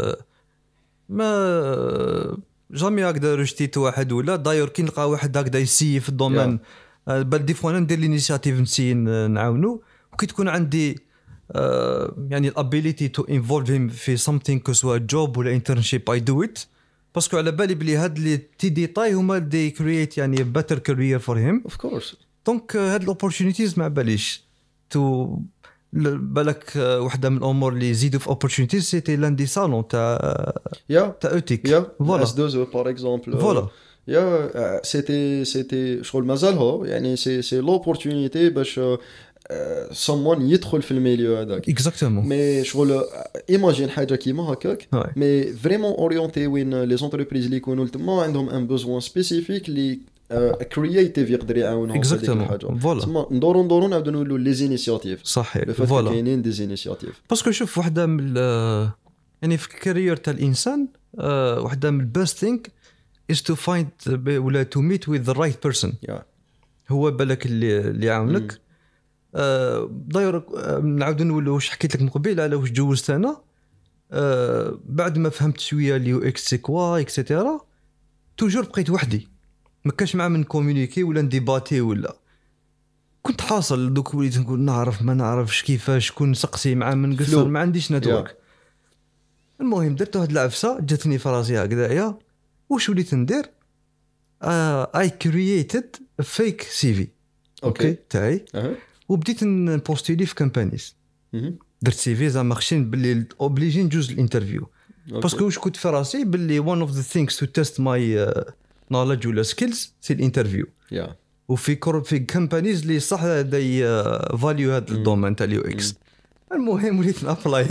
ما جامي هكذا رجتيت واحد ولا داير كي نلقى واحد هكذا يسي في الدومين بل دي فوا انا ندير لينيشياتيف نسي نعاونو وكي تكون عندي يعني الابيليتي تو انفولف هيم في something كسوا جوب ولا انترنشيب اي دو ات باسكو على بالي بلي هاد لي تي ديتاي هما دي كرييت يعني بيتر كارير فور هيم اوف كورس دونك هاد الاوبورتونيتيز ما باليش تو بالك وحده من الامور اللي يزيدوا في اوبورتونيتيز سيتي لاندي صالون تاع اوتيك فوالا اس دوزو بار اكزومبل فوالا يا سيتي شغل مازال يعني سي لوبورتونيتي باش someone يدخل في الميليو هذاك اكزاكتومون مي شغل ايماجين حاجه كيما هكاك مي فريمون اورينتي وين لي زونتربريز اللي يكونوا تما عندهم ان بوزوان سبيسيفيك اللي كرييتيف يقدر يعاونهم في هذيك الحاجه تما ندورو نعاودو نقولوا لي زينيسياتيف صحيح فوالا كاينين دي زينيسياتيف باسكو شوف وحده من يعني في الكارير تاع الانسان وحده من البيست ثينك is to find ولا to meet with the right person هو بالك اللي يعاونك داير نعاود نقول واش حكيت لك من قبيل على واش جوزت انا بعد ما فهمت شويه اليو اكس سي كوا اكسيتيرا توجور بقيت وحدي ما كانش مع من كومونيكي ولا نديباتي ولا كنت حاصل دوك وليت نقول نعرف ما نعرفش كيفاش كون نسقسي مع من قصر ما عنديش نتورك المهم درت واحد العفسه جاتني في راسي هكذايا واش وليت ندير اي كرييتد فيك سي في اوكي تاعي وبديت نبوستيلي في كامبانيز درت سي في زعما خشين باللي اوبليجي نجوز الانترفيو باسكو واش كنت في راسي باللي one of the things to test my knowledge ولا skills سي الانترفيو وفي كامبانيز اللي صح داي فاليو هذا الدومين تاع اليو اكس المهم وليت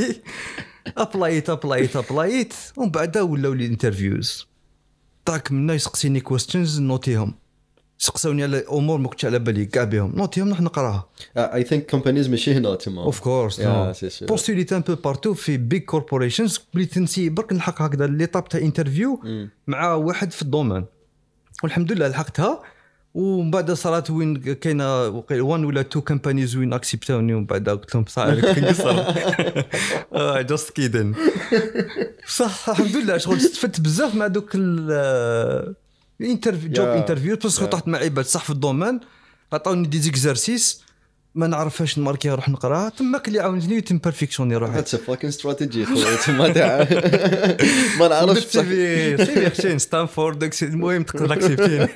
ابلايت ومن بعد ولاو لي انترفيوز طاك من يسقسيني كويستشنز نوتيهم سقسوني على امور ما كنتش على بالي كاع بهم نوتيهم نحن نقراها اي ثينك كومبانيز ماشي هنا تما اوف كورس بوستوليت ان بو بارتو في بيج كوربوريشنز بليت نسي برك نلحق هكذا لي طاب تاع انترفيو مع واحد في الدومين والحمد لله لحقتها ومن بعد صارت وين كاينه وان ولا تو كومبانيز وين اكسبتوني ومن بعد قلت لهم صح كنقصر جاست كيدن صح الحمد لله شغل استفدت بزاف مع دوك الانترفيو جوب انترفيو باسكو طحت مع عباد صح في الدومين عطاوني دي زيكزارسيس ما نعرفهاش نماركيها نروح نقراها تماك اللي عاونتني تم بيرفكشني روحي هاتس فاكين استراتيجي تما تاع ما نعرفش سي خشين ستانفورد المهم تقدر اكسبتيني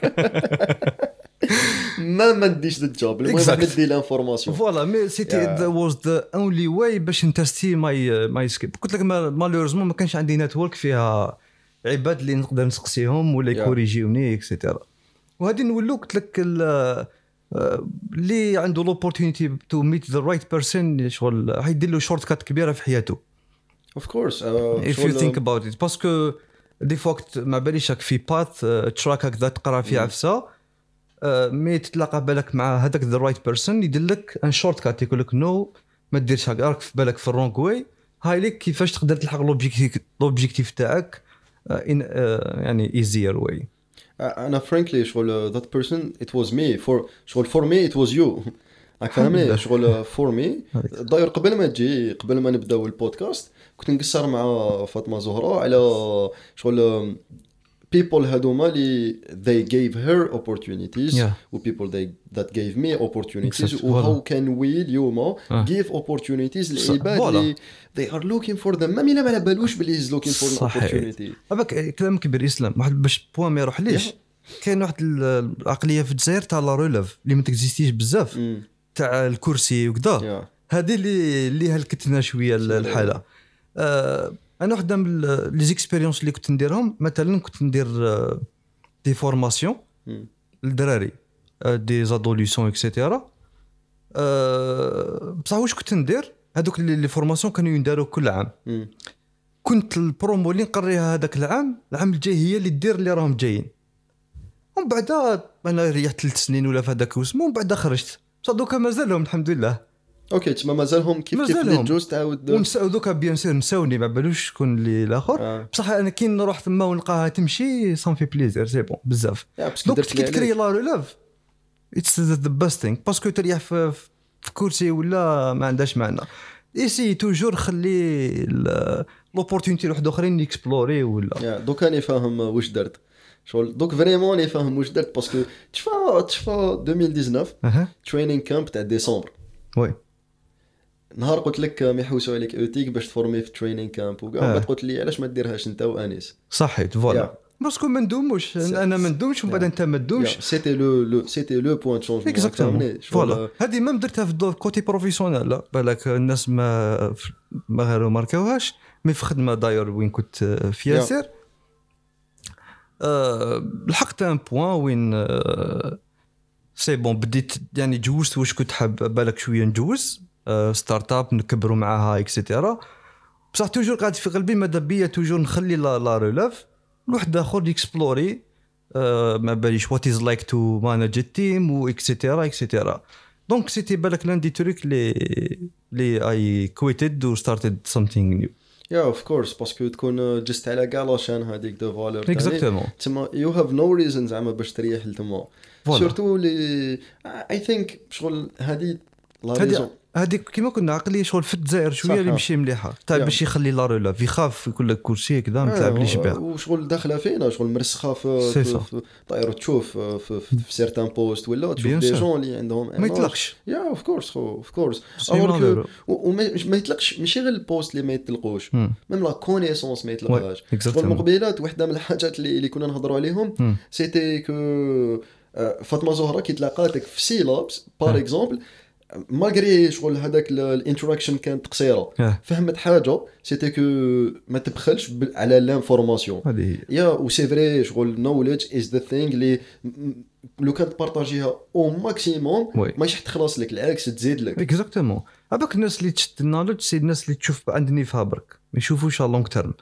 ما نديش الجوب المهم ندي الانفورماسيون فوالا مي سيتي واز ذا اونلي واي باش نتستي ماي سكيب قلت لك مالوريزمون ما كانش عندي نتورك فيها عباد اللي نقدر نسقسيهم ولا يكوريجيوني اكسيتيرا وهذه نقول قلت لك اللي عنده لوبورتونيتي تو ميت ذا رايت بيرسون شغل حيدير له شورت كات كبيره في حياته اوف كورس if you think about it باسكو دي فوقت ما باليش في باث تراك هكذا تقرا فيه عفسه مي تتلاقى بالك مع هذاك ذا رايت بيرسون يدير لك ان شورت كات يقول لك نو ما ديرش هكا راك في بالك في الرونغ واي هاي لك كيفاش تقدر تلحق لوبجيكتيف تاعك يعني easier way أنا frankly شغل that person it was me for me it was you فهمني شغل for me داير قبل ما نبداو البودكاست كنت نقصر مع فاطمة زهرة على شغل people هذوما اللي they gave her opportunities Yeah. و people that gave me opportunities Exactly. و how can we اليوم give opportunities للعباد اللي they are looking for them ما على بالوش باللي is looking for an opportunity. هذاك كلام كبير اسلام واحد باش بوان ما يروح ليش كاين واحد العقليه في الجزائر تاع لا ريليف اللي ما تكزيستيش بزاف تاع الكرسي وكذا هذه اللي هلكتنا شويه الحاله. انا وحده من لي زيكسبيريونس اللي كنت نديرهم مثلا كنت ندير دي فورماسيون للدراري دي زادوليسيون اكسيتيرا. بصح واش كنت ندير هذوك لي فورماسيون كانوا ينداروا كل عام. كنت البرومو اللي نقريها هذاك العام الجاي هي اللي دير اللي راهم جايين. ومن بعد انا ريحت 3 سنين ولا في هذاك وسمو ومن بعد خرجت بصح دوكا مازالهم الحمد لله. اوكي تما مازالهم كيف اللي جوز تعاود ونساو دوكا بيان سير نساوني ما بالوش شكون اللي الاخر بصح انا كي نروح ثما ونلقاها تمشي سون في بليزير سي بون بزاف. دونك كي تكري لا ريليف اتس ذا بيست ثينغ باسكو تريح في كرسي ولا ما عندهاش معنى. ايسي توجور خلي لوبورتونيتي لواحد اخرين يكسبلوري ولا دوك انا فاهم واش درت شغل دوك فريمون لي فاهم واش درت باسكو تشفى 2019 تريننج كامب تاع ديسمبر. وي نهار قلت لك ما يحوسوا عليك اوتيك باش تفورمي في تريننج كامب وكاع بعد قلت لي علاش ما ديرهاش انت وانيس. صحيت فوالا باسكو ما ندوموش انا ما ندومش ومن بعد انت ما تدومش. سيتي لو بوين شونجمون فوالا هذه ما درتها في الدور كوتي بروفيسيونيل لا بالك الناس ما غير ماركاوهاش مي في خدمه داير وين كنت في ياسر لحقت ان بوين وين سي بون بديت يعني جوزت واش كنت حاب بالك شويه نجوز ستارت اب نكبروا معاها اكسيتيرا. بصح توجور قاعد في قلبي ماذا بيا توجور نخلي لا ريليف لواحد اخر يكسبلوري ما باليش وات از لايك تو مانج التيم و اكسيتيرا. دونك سيتي بالك لاندي تريك لي اي كويتد و ستارتد سامثينغ نيو. اوف كورس باسكو تكون جست على كاع لاشان هذيك دو فالور اكزاكتومون تما يو هاف نو ريزون زعما باش تريح لتما سورتو لي اي ثينك شغل هذه لا ريزون هذيك كيما كنا عقليه شغل في الجزائر شويه اللي ماشي مليحه تاع باش يخلي لا ريلاف يخاف يقول لك كرسي كذا ما تلعبليش بها وشغل داخله فينا شغل مرسخه في طاير تشوف في سيرتان بوست ولا تشوف دي جون اللي عندهم ما يطلقش اوف كورس ما يطلقش ماشي غير البوست اللي ما يطلقوش ميم لا كونيسونس ما يطلقهاش. المقبلات واحده من الحاجات اللي كنا نهضروا عليهم سيتي كو فاطمه زهره كي تلاقاتك في سيلابس بار اكزومبل مالغري شغل هذاك الانتراكشن كانت قصيره فهمت حاجه سيتي كو ما تبخلش على لانفورماسيون يا و سي فري شغل نوليدج از ذا ثينغ اللي لو كانت بارطاجيها او ماكسيموم ماشي تخلص لك العكس تزيد لك اكزاكتومون. هذوك الناس اللي تشد النوليدج سي الناس اللي تشوف عندني فيها برك ما يشوفوش على لونغ تيرم.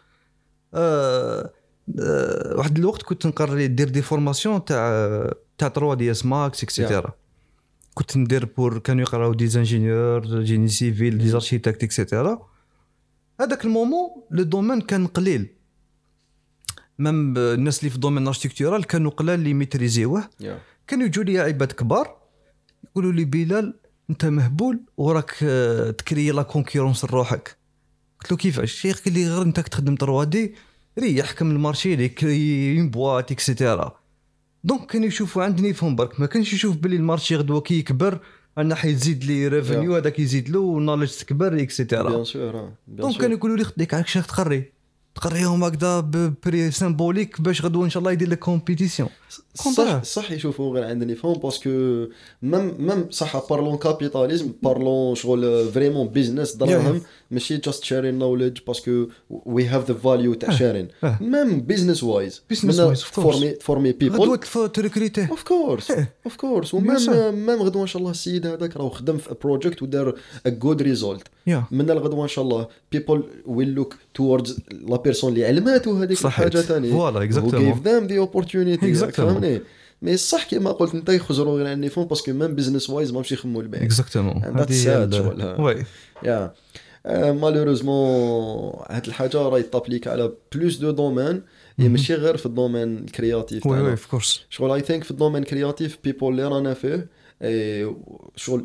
واحد الوقت كنت نقرر ندير دي فورماسيون تاع 3 دي اس ماكس اكسيتيرا كنت ندير بور كانوا يقراو دي انجينيور جيني سيفيل دي اركيتكت اكسيتيرا. هذاك المومون لو دومين كان قليل ميم الناس اللي في دومين اركيتكتورال كانوا قلال اللي ميتريزيوه كانوا يجوا لي عباد كبار يقولوا لي بلال انت مهبول وراك تكري لا كونكورونس لروحك. قلت له كيفاش شيخ؟ قال لي غير انت تخدم 3 دي ريح كم المارشي لي كري بواط اكسيتيرا. دونك كانوا يشوفوا عندني فهم برك ما كانش يشوف بلي المارشي غدوه كي يكبر انا حيزيد لي ريفينيو هذاك يزيد له ونولج تكبر اكسيتيرا. بيان سور دونك كانوا يقولوا لي خديك عاك شيخ تقريهم هكذا ببري سيمبوليك باش غدوه ان شاء الله يدير لك كومبيتيسيون. صح يشوفوا غير عندني فهم باسكو ميم صح بارلون كابيتاليزم بارلون شغل فريمون بيزنس دراهم ماشي جاست شيرين نوليدج باسكو وي هاف ذا فاليو تاع شيرين ميم بيزنس وايز فورمي بيبل غدوه تريكريتي اوف كورس وميم غدوه ان شاء الله السيد هذاك راه خدم في بروجيكت ودار ا جود ريزولت من الغدوه ان شاء الله بيبل ويل لوك توردز لا بيرسون اللي علماتو هذيك الحاجه ثاني فوالا اكزاكتومون give them the opportunity فهمني مي صح كيما قلت انت يخزروا غير عني فون باسكو ميم بيزنس وايز ماشي يخموا البيع اكزاكتومون هذه وي يا مالوريزمون هاد الحاجه راهي تابليك على بلوس دو دومين ماشي غير في الدومين الكرياتيف وي اوف كورس شغل اي ثينك في الدومين كرياتيف بيبول اللي رانا فيه شغل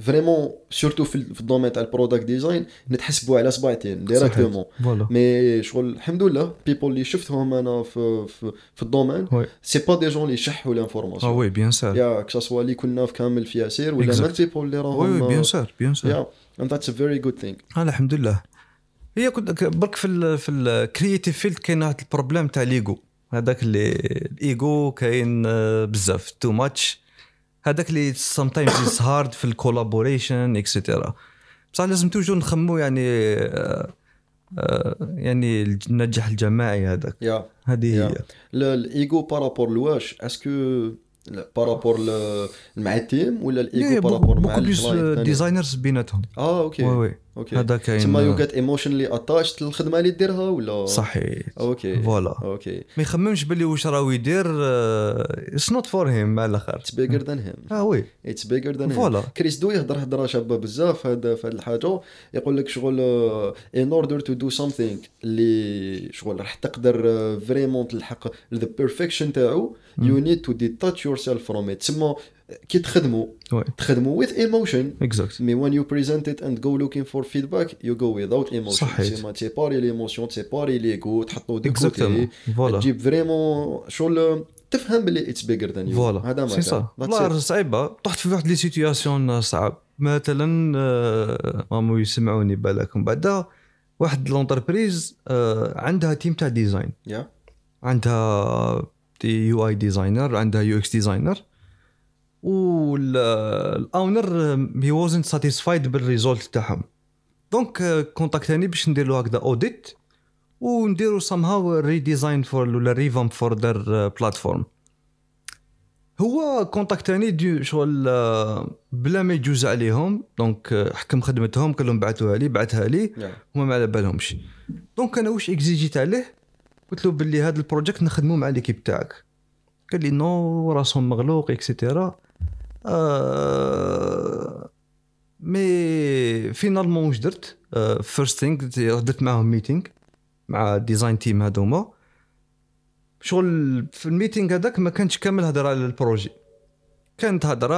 فريمون سورتو في الدومين تاع البرودكت ديزاين نتحسبوا على صباعتين ديريكتومون. مي شغل الحمد لله بيبول اللي شفتهم انا في الدومين سي با دي جون اللي يشحوا لانفورماسيون. وي بيان سور يا كسوا اللي كنا في كامل في ياسير ولا ما بيبول اللي راهم. وي بيان سور يا and that's a very good thing. الحمد لله. هي كنت برك في الكرييتيف فيلد كاين واحد البروبليم تاع ليغو. هذاك اللي الايغو كاين بزاف تو ماتش. هذاك اللي sometimes is hard في الكولابوريشن اكسترا. بصح لازم توجو نخمو يعني النجاح الجماعي هذاك. هذه هي الايغو بارابور لواش اسكو بارابور مع التيم ولا الايغو بارابور مع الديزاينرز بيناتهم. اوكي هذا كاين تما يو جيت ايموشنلي اتاشت للخدمه اللي ديرها ولا صحيح. فوالا ما يخممش باللي واش راهو يدير اتس نوت فور هيم على الاخر اتس بيجر ذان هيم. وي اتس بيجر ذان هيم. كريس دو يهضر هضره شابه بزاف هذا في هذه الحاجه. يقول لك شغل ان اوردر تو دو سامثينغ اللي شغل راح تقدر فريمون تلحق ذا بيرفكشن تاعو يو نيد تو ديتاتش يور سيلف فروم ات. تسمى كي تخدموا with emotion mais when you present it and go looking for feedback you go without emotion. c'est séparer l'émotion séparer l'ego تحطوا دي كوتي تجيب فريمون شغل تفهم بلي it's bigger than you. هذا ما كان والله صعيبه. طحت في واحد لي سيتوياسيون صعب مثلا مامو يسمعوني بالكم بعدا واحد لونتربريز عندها تيم تاع ديزاين عندها يو اي ديزاينر عندها يو اكس ديزاينر والاونر هي وازنت ساتيسفايد بالريزولت تاعهم. دونك كونتاكتاني باش ندير له هكذا اوديت ونديروا somehow ريديزاين فور ولا ريفامب فور دير بلاتفورم. هو كونتاكتاني دي شغل بلا ما يجوز عليهم. دونك حكم خدمتهم كلهم بعثوها لي بعثها لي هما ما على بالهمش. دونك انا واش اكزيجيت عليه قلت له باللي هذا البروجيكت نخدمه مع ليكيب تاعك. قال لي نو راسهم مغلوق اكسيتيرا. مي فينالمون واش درت فيرست ثينغ درت معهم ميتينغ مع الديزاين تيم هذوما. شغل في الميتينغ هذاك ما كانش كامل هضره على البروجي كانت هضره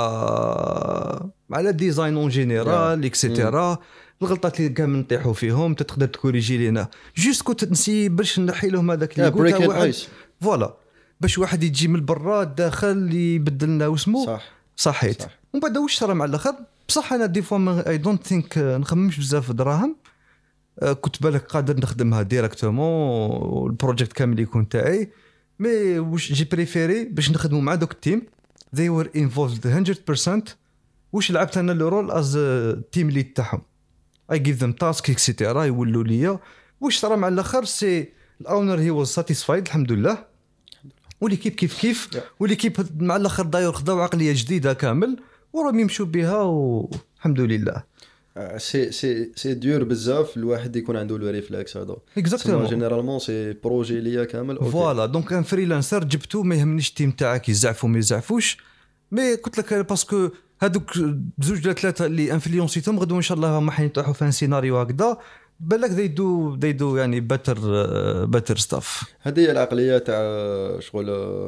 على الديزاين اون جينيرال اكسيتيرا. الغلطات اللي كامل نطيحوا فيهم تقدر تكوريجي لينا جوست كنت نسي باش نحي لهم هذاك اللي قلت واحد فوالا باش واحد يجي من برا داخل يبدل لنا واسمو صحيت. ومن بعد واش صرا مع الاخر بصح انا دي فوا اي دونت ثينك نخممش بزاف في دراهم. كنت بالك قادر نخدمها ديريكتومون البروجيكت كامل يكون تاعي. مي واش جي بريفيري باش نخدموا مع دوك التيم they were involved 100%. واش لعبت انا لو رول از تيم ليد تاعهم I give them task اكسيتيرا يولوا ليا. واش صرا مع الاخر سي الاونر هي واز ساتيسفايد الحمد لله. وليكيب كيف وليكيب مع الاخر داير خداو عقليه جديده كامل وراهم يمشوا بها والحمد لله. سي دور بزاف الواحد يكون عنده لو ريفلكس هذا اكزاكتومون. جينيرالمون سي بروجي ليا كامل فوالا. دونك ان فريلانسر جبتو ما يهمنيش التيم تاعك يزعفوا ما يزعفوش. مي قلت لك باسكو هذوك زوج ولا ثلاثه اللي انفلونسيتهم غدو ان شاء الله ما حيطيحوا في سيناريو هكذا بالك they do يعني better stuff. هذه هي العقليه تاع شغل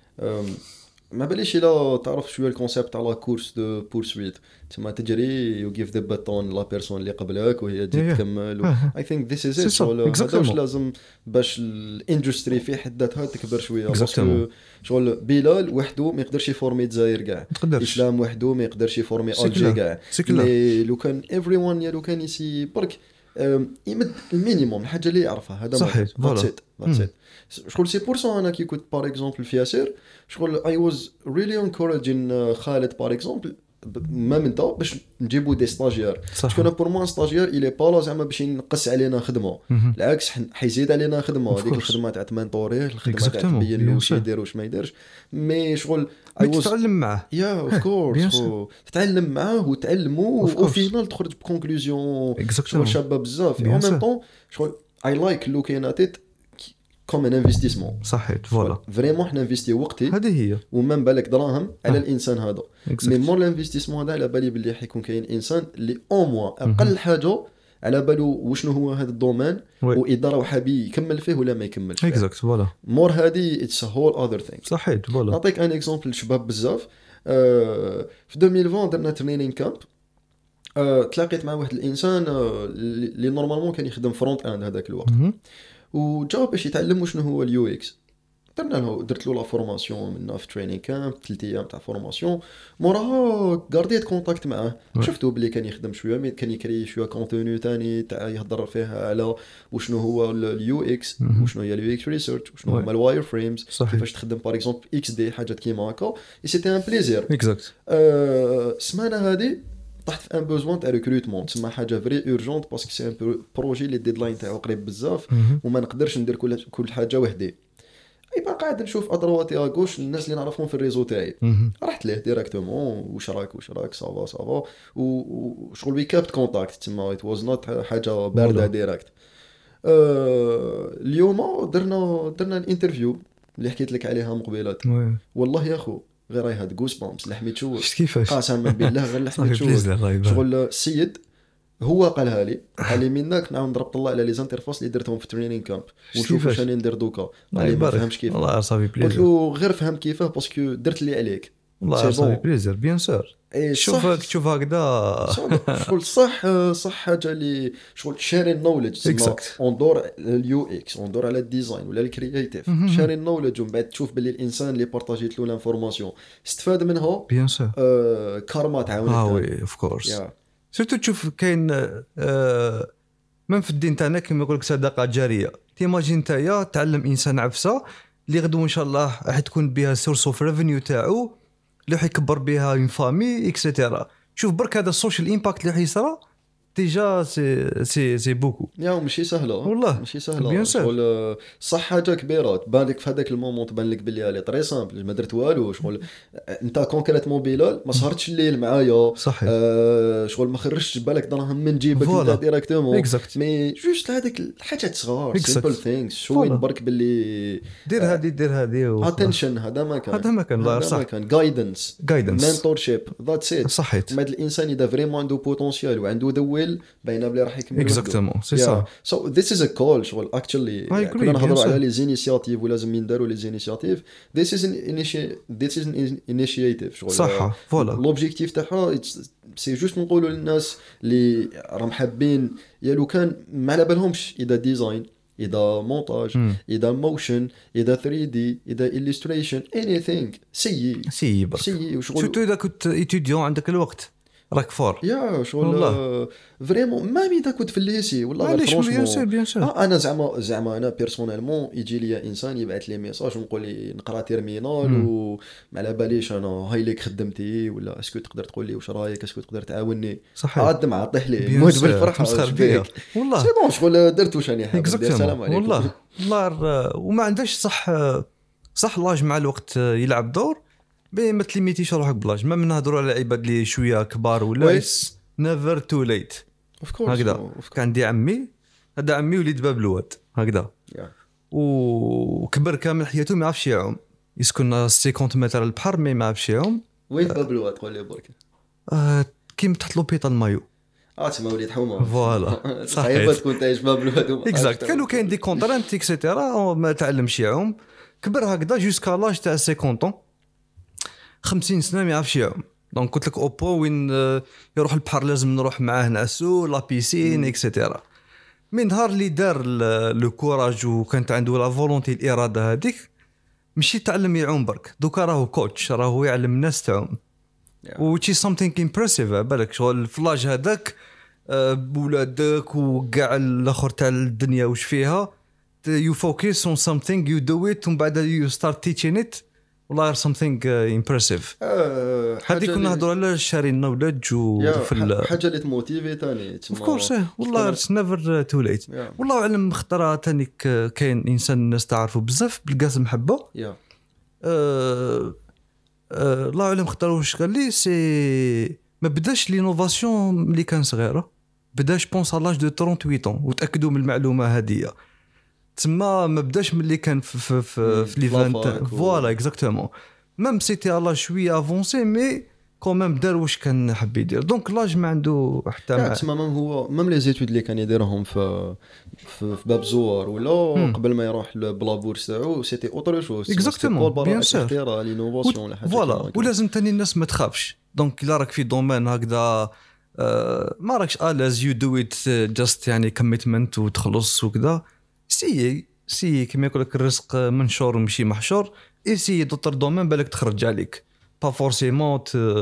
ما باليش الا تعرف شويه الكونسيبت تاع لا كورس دو بورسويت تما تجري يو جيف ذا باتون لا بيرسون اللي قبلك وهي تجي تكمل. اي ثينك ذيس از ات. هذا واش لازم باش الاندستري في حد ذاتها تكبر شويه. باسكو شغل بلال وحده ما يقدرش يفورمي الجزائر كاع. اسلام وحده ما يقدرش يفورمي الجي كاع. مي لو كان ايفري ون لو كان يسي برك يمد المينيموم الحاجه اللي يعرفها هذا صحيح. فوالا شغل سي بور سو انا كي كنت بار اكزومبل في ياسر شغل اي واز ريلي انكوريجين خالد بار اكزومبل ما من دا باش نجيبو دي ستاجير. شكون بور مو ستاجير الي با زعما باش ينقص علينا خدمه بالعكس حيزيد علينا خدمه. هذيك الخدمه تاع تمنطوريه الخدمه تاع تبين له واش يدير واش ما يديرش. مي شغل تتعلم معاه يا اوف كورس تتعلم معاه وتعلموا وفينال تخرج بكونكلوزيون شغل شابه بزاف. اون ميم طون شغل اي لايك لوكين ات ات كوم ان انفستيسمون. صحيت فوالا فريمون حنا انفستي وقتي هذه هي وما بالك دراهم على الانسان هذا. مي مور الانفستيسمون هذا على بالي باللي حيكون كاين انسان اللي او موا اقل حاجه على بالو وشنو هو هذا الدومين واداره وحابي يكمل فيه ولا ما يكملش فيه. اكزاكت فوالا. مور هذه اتس هول اذر ثينغ. صحيت فوالا. نعطيك ان اكزامبل شباب بزاف في 2020 درنا تريننج كامب. تلاقيت مع واحد الانسان اللي نورمالمون كان يخدم فرونت اند هذاك الوقت، وجا باش يتعلم شنو هو اليو اكس. درت له لا فورماسيون منا في تريننج كامب 3 ايام تاع فورماسيون. موراها غارديت كونتاكت معاه، شفتو بلي كان يخدم شويه مي كان يكري شويه كونتوني ثاني تاع يهضر فيها على وشنو هو اليو اكس، وشنو هي اليو اكس ريسيرش، وشنو هما الواير فريمز، كيفاش تخدم باغ اكزومبل اكس دي حاجات كيما هكا. اي سيتي ان بليزير اكزاكت. السمانه هذه طحت في ان بوزوان تاع ريكروتمون، تسمى حاجه فري اورجونت باسكو سي ان بروجي لي ديدلاين تاعو قريب بزاف وما نقدرش ندير كل حاجه وحدي. يبقى قاعد نشوف ادرواتي اغوش الناس اللي نعرفهم في الريزو تاعي، رحت له ديريكتومون واش راك صافا وشغل وي كابت كونتاكت تما ات واز نوت حاجه بارده ديريكت. اليوم درنا الانترفيو اللي حكيت لك عليها مقبلات. والله يا اخو غير هاي هاد جوس بامس لحمي تشوف كيفاش قسما بالله غير لحمي تشوف. شغل السيد هو قالها لي منك نعاود نضرب طلع على لي زانترفاس اللي درتهم في تريننج كامب ونشوف واش راني ندير دوكا. قال لي ما فهمش كيف. والله صافي بليزير. قلت له غير فهم كيفاه باسكو درت اللي عليك. والله صافي بليزير بيان سور. شوف هكذا شغل صح حاجه اللي شغل شيرين نوليدج اون دور اليو اكس اون دور على الديزاين ولا الكرياتيف شيرين نوليدج ومن بعد تشوف باللي الانسان اللي بارطاجيت له لانفورماسيون استفاد منها بيان سور. كارما تعاون. وي اوف كورس. سيرتو تشوف كاين من في الدين تاعنا كما يقول لك صدقه جاريه. تيماجين نتايا تعلم انسان عفسه اللي غدو ان شاء الله راح تكون بها سورس اوف ريفينيو تاعو اللي راح يكبر بها اون فامي اكسيتيرا. شوف برك هذا السوشيال امباكت اللي حيصرا ديجا سي بوكو. يا ماشي سهله والله ماشي سهله. شغل صح حاجه كبيره تبان لك في هذاك المومون، تبان لك بلي هي طري سامبل ما درت والو. شغل انت كونكريتمون بلال ما سهرتش الليل معايا شغل ما خرجتش بالك دراهم من جيبك انت ديريكتومون مي جوست هذيك الحاجات صغار سيمبل ثينكس شوي برك باللي دير هذه اتنشن. هذا ما كان الله صح كان جايدنس مينتورشيب ذاتس ات. صحيت. ما الانسان اذا فريمون عنده بوتونسيال وعنده ذوي باينه بلي راح يكمل. اكزاكتومون سي سا. سو ذيس از ا كول شغل اكشلي كنا نهضروا على لي زينيسياتيف ولازم ينداروا لي زينيسياتيف. ذيس از ان انيشيتيف شغل صح. فوالا لوبجيكتيف تاعها سي جوست نقولوا للناس اللي راهم حابين يا لو كان ما على بالهمش اذا ديزاين اذا مونتاج اذا موشن اذا 3 دي اذا illustration anything سي وشغل شفتوا اذا كنت ايتيديون عندك الوقت راك فور. يا شغل فريمون ما اذا كنت في الليسي والله فرونشمون. بيان سور انا زعما انا بيرسونيلمون يجي لي انسان يبعث لي ميساج ونقول لي نقرا تيرمينال وما على باليش انا هاي ليك خدمتي ولا اسكو تقدر تقول لي واش رايك اسكو تقدر تعاوني. عاد ما عطيه لي موت بالفرحه والله سي بون شغل درت واش راني حاب ندير. السلام عليكم والله وما عندهاش صح لاج مع الوقت يلعب دور ما تليميتيش روحك بلاج. ما نهضروا على عباد اللي شويه كبار ولا نيفر تو ليت هكذا. كان عندي هذا عمي وليد باب الواد هكذا وكبر كامل حياته ما يعرفش يعوم. يسكن 50 متر البحر ما يعرفش يعوم. وين باب الواد قول لي برك؟ كيما تحت لوبيطال مايو تما وليد حومه فوالا صحيح تكون تعيش باب الواد اكزاكت. كانوا كاين دي كونترانت اكسيتيرا ما تعلمش يعوم. كبر هكذا جوسكا لاج تاع 50 50 سنه ما يعرفش يعوم. دونك قلت لك اوبو وين يروح البحر لازم نروح معاه نعسو لا بيسين اكسيتيرا. من نهار اللي دار لو كوراج وكانت عنده لا فولونتي الاراده هذيك ماشي تعلم يعوم برك دوكا راهو كوتش راهو يعلم الناس تعوم which is something impressive. بالك شغل الفلاج هذاك بولادك وكاع الاخر تاع الدنيا وش فيها you focus on something you do it ومن بعد you start teaching it. والله something impressive. هذه كنا نهضروا على شارين نولج وفي حاجه اللي تموتيفي ثاني of course. والله never too late. والله اعلم خطره ثاني كاين انسان الناس تعرفوا بزاف بالقاسم محبه. الله اعلم خطره واش قال لي سي ما بداش لينوفاسيون اللي كان صغيره بداش بونس لاج دو 38 وتاكدوا من المعلومه هذه تما ما بداش من اللي كان في ليفانت فوالا اكزاكتومون ميم سيتي الله شويه افونسي مي كومام دار واش كان حاب يدير. دونك لاج ما عنده حتى تماما. هو ميم لي زيتود اللي كان يديرهم في باب زوار ولا قبل ما يروح للبلابور تاعو سيتي اوتر شوز اكزاكتومون بيان سور اختراع لينوفاسيون ولا حاجه فوالا. ولازم تاني الناس ما تخافش. دونك الا راك في دومين هكذا ما راكش الاز يو دو ات جاست يعني كوميتمنت وتخلص وكذا. سي كما يقول لك الرزق منشور ومشي محشور. سي دوتر دومين بالك تخرج عليك با فورسيمون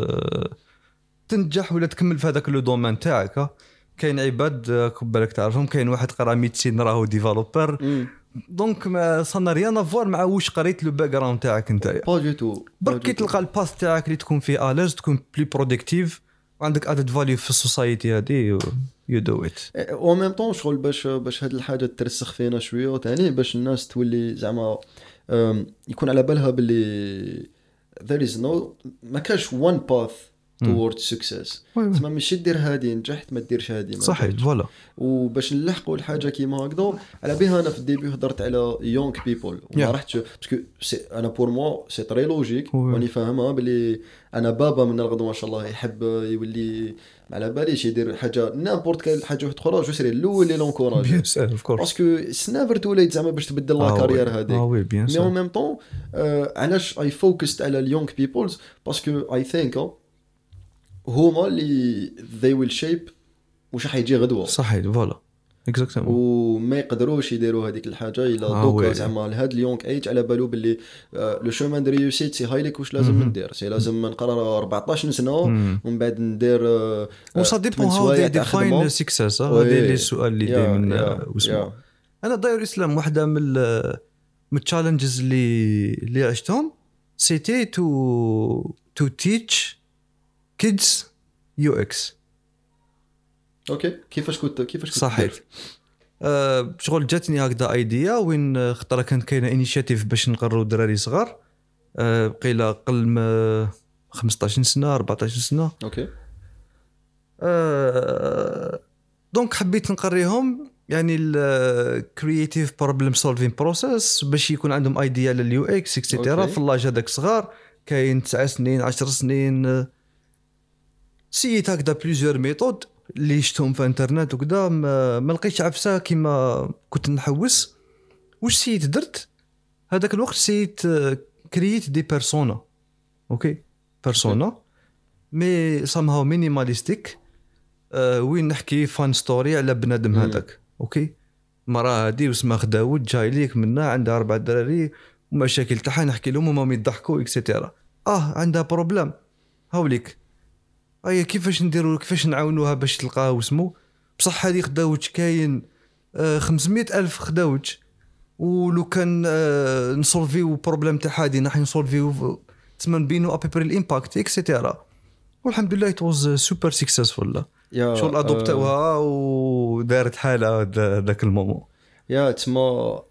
تنجح ولا تكمل في هذاك لو دومين تاعك. كاين عباد بالك تعرفهم كاين واحد قرا ميديسين راهو ديفلوبر دونك ما صنا ريان افوار مع واش قريت لو باك جراوند تاعك نتايا با دو تو. برك كي تلقى الباث تاعك اللي تكون فيه الاز تكون بلي برودكتيف وعندك ادد فاليو في السوسايتي هذه يو دو ات او ميم طون شغل باش هاد الحاجه ترسخ فينا شويه ثاني باش الناس تولي زعما يكون على بالها باللي there is no ما كاش one path towards success. تما ماشي دير هادي نجحت ما ديرش هادي ما صحيح فوالا. وباش نلحقوا الحاجه كيما هكذا على بها انا في الديبي هضرت على يونغ بيبل وما رحتش باسكو انا بور مو سي تري لوجيك واني فاهمها بلي انا بابا من الغد ما شاء الله يحب يولي على باليش يدير حاجه نامبورت كاين حاجه واحده اخرى جو سري الاول اللي لونكوراج باسكو سنافر توليت زعما باش تبدل لا كارير هذيك مي اون ميم طون علاش اي فوكست على اليونغ بيبلز باسكو اي ثينك هما اللي they will shape واش حيجي غدوه. صحيح فوالا اكزاكتومون. وما يقدروش يديروا هذيك الحاجه الا دوكا زعما لهاد اليونغ ايج على بالو باللي لو شومان دو ريوسيت سي هايليك واش لازم ندير. سي لازم نقرا 14 سنه ومن بعد ندير وصا ديبون هاو دي ديفاين سكسس. هذا اللي السؤال اللي دائما واسمع انا داير اسلام واحده من التشالنجز اللي عشتهم سيتي تو تيتش kids UX. اوكي كيفاش كنت صحيح شغل جاتني هكذا ايديا وين خطره كانت كاينه انيشيتيف باش نقرروا دراري صغار قيله قل ما 15 سنه 14 سنه. اوكي دونك حبيت نقريهم يعني الكرييتيف بروبلم سولفين بروسيس باش يكون عندهم ايديا لليو اكس اكسيتيرا في اللاج هذاك صغار كاين 9 سنين 10 سنين. سيت هكذا بليزيور ميثود اللي شفتهم في انترنت وكذا ما لقيتش عفسه كيما كنت نحوس. واش سيت درت هذاك الوقت سيت كرييت دي بيرسونا. اوكي بيرسونا مي سامهاو مينيماليستيك وين نحكي فان ستوري على بنادم هذاك. اوكي مراه هذه واسمها خداود جاي ليك منها عندها 4 دراري ومشاكل تاعها نحكي لهم وما يضحكوا اكسيتيرا. عندها بروبليم هاوليك اي كيفاش نديروا كيفاش نعاونوها باش تلقاها واسمو بصح هذه خداوج كاين 500,000 خداوج ولو كان نسولفيو بروبليم تاع هذه نحن نسولفيو تسمى نبينوا ابيبري الامباكت اكسيتيرا. والحمد لله ات واز سوبر سكسسفول. شغل ادوبتوها ودارت حالها ذاك المومون يا تسمى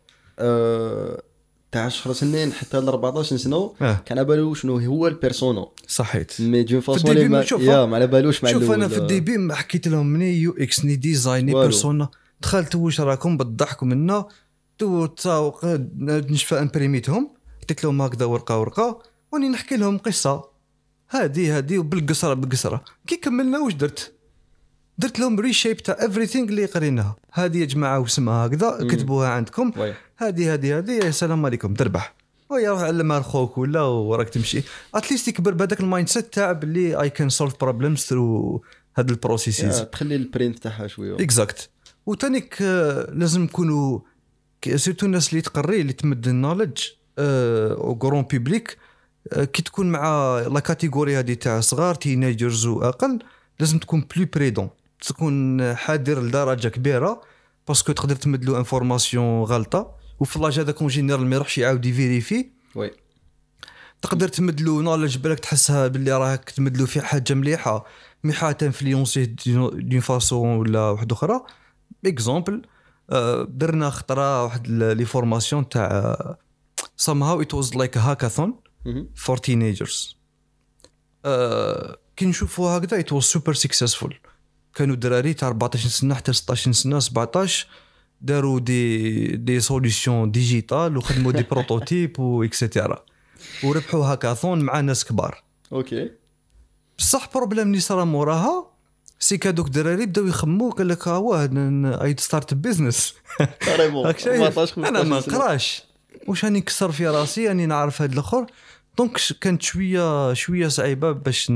تاع 10 سنين حتى ل 14 سنه كان على بالو شنو هو البيرسونا. صحيت مي دون فاصون ما على بالوش مع شوف انا في الديبي ما حكيت لهم مني يو اكس ني ديزاين ني بيرسونا دخلت واش راكم بتضحكوا منا تو تساوق نشفى امبريميتهم قلت لهم هكذا ورقه وني نحكي لهم قصه هذه وبالقصره كي كملنا واش درت لهم ريشيب تاع everything اللي قريناها. هذه يا جماعه واسمها هكذا كتبوها عندكم هذه يا سلام عليكم تربح ويا روح علمها لخوك ولا وراك تمشي اتليست يكبر بهذاك المايند سيت تاع باللي اي كان سولف بروبلمز ثرو هاد البروسيسز تخلي البرينت تاعها شويه اكزاكت. وتانيك لازم نكونوا سيرتو الناس اللي تقري اللي تمد النولج او غران بوبليك كي تكون مع لا كاتيجوري هذه تاع صغار تينيجرز واقل لازم تكون بلو بريدون تكون حذر لدرجه كبيره باسكو تقدر تمدلو انفورماسيون غلطه وفي لاج هذاك اون جينيرال ما يروحش يعاود يفيريفي. وي تقدر تمدلو نولج بالك تحسها باللي راك تمدلو في حاجه مليحه مي حتى انفلونسي دون فاسون ولا واحده اخرى. اكزامبل درنا خطره واحد لي فورماسيون تاع somehow it was like a hackathon for teenagers. كي نشوفوا هكذا it was super successful. كانوا دراري تاع 14 سنه حتى 16 سنه 17 داروا دي سوليوشن ديجيتال وخدموا دي بروتوتيب واكسيتيرا وربحوا هاكاثون مع ناس كبار. اوكي بصح بروبليم اللي صرا موراها سي كادوك الدراري بداو يخمو قال لك ايد ستارت بيزنس انا ما نقراش واش راني نكسر في راسي راني نعرف هاد الاخر دونك كانت شويه صعيبه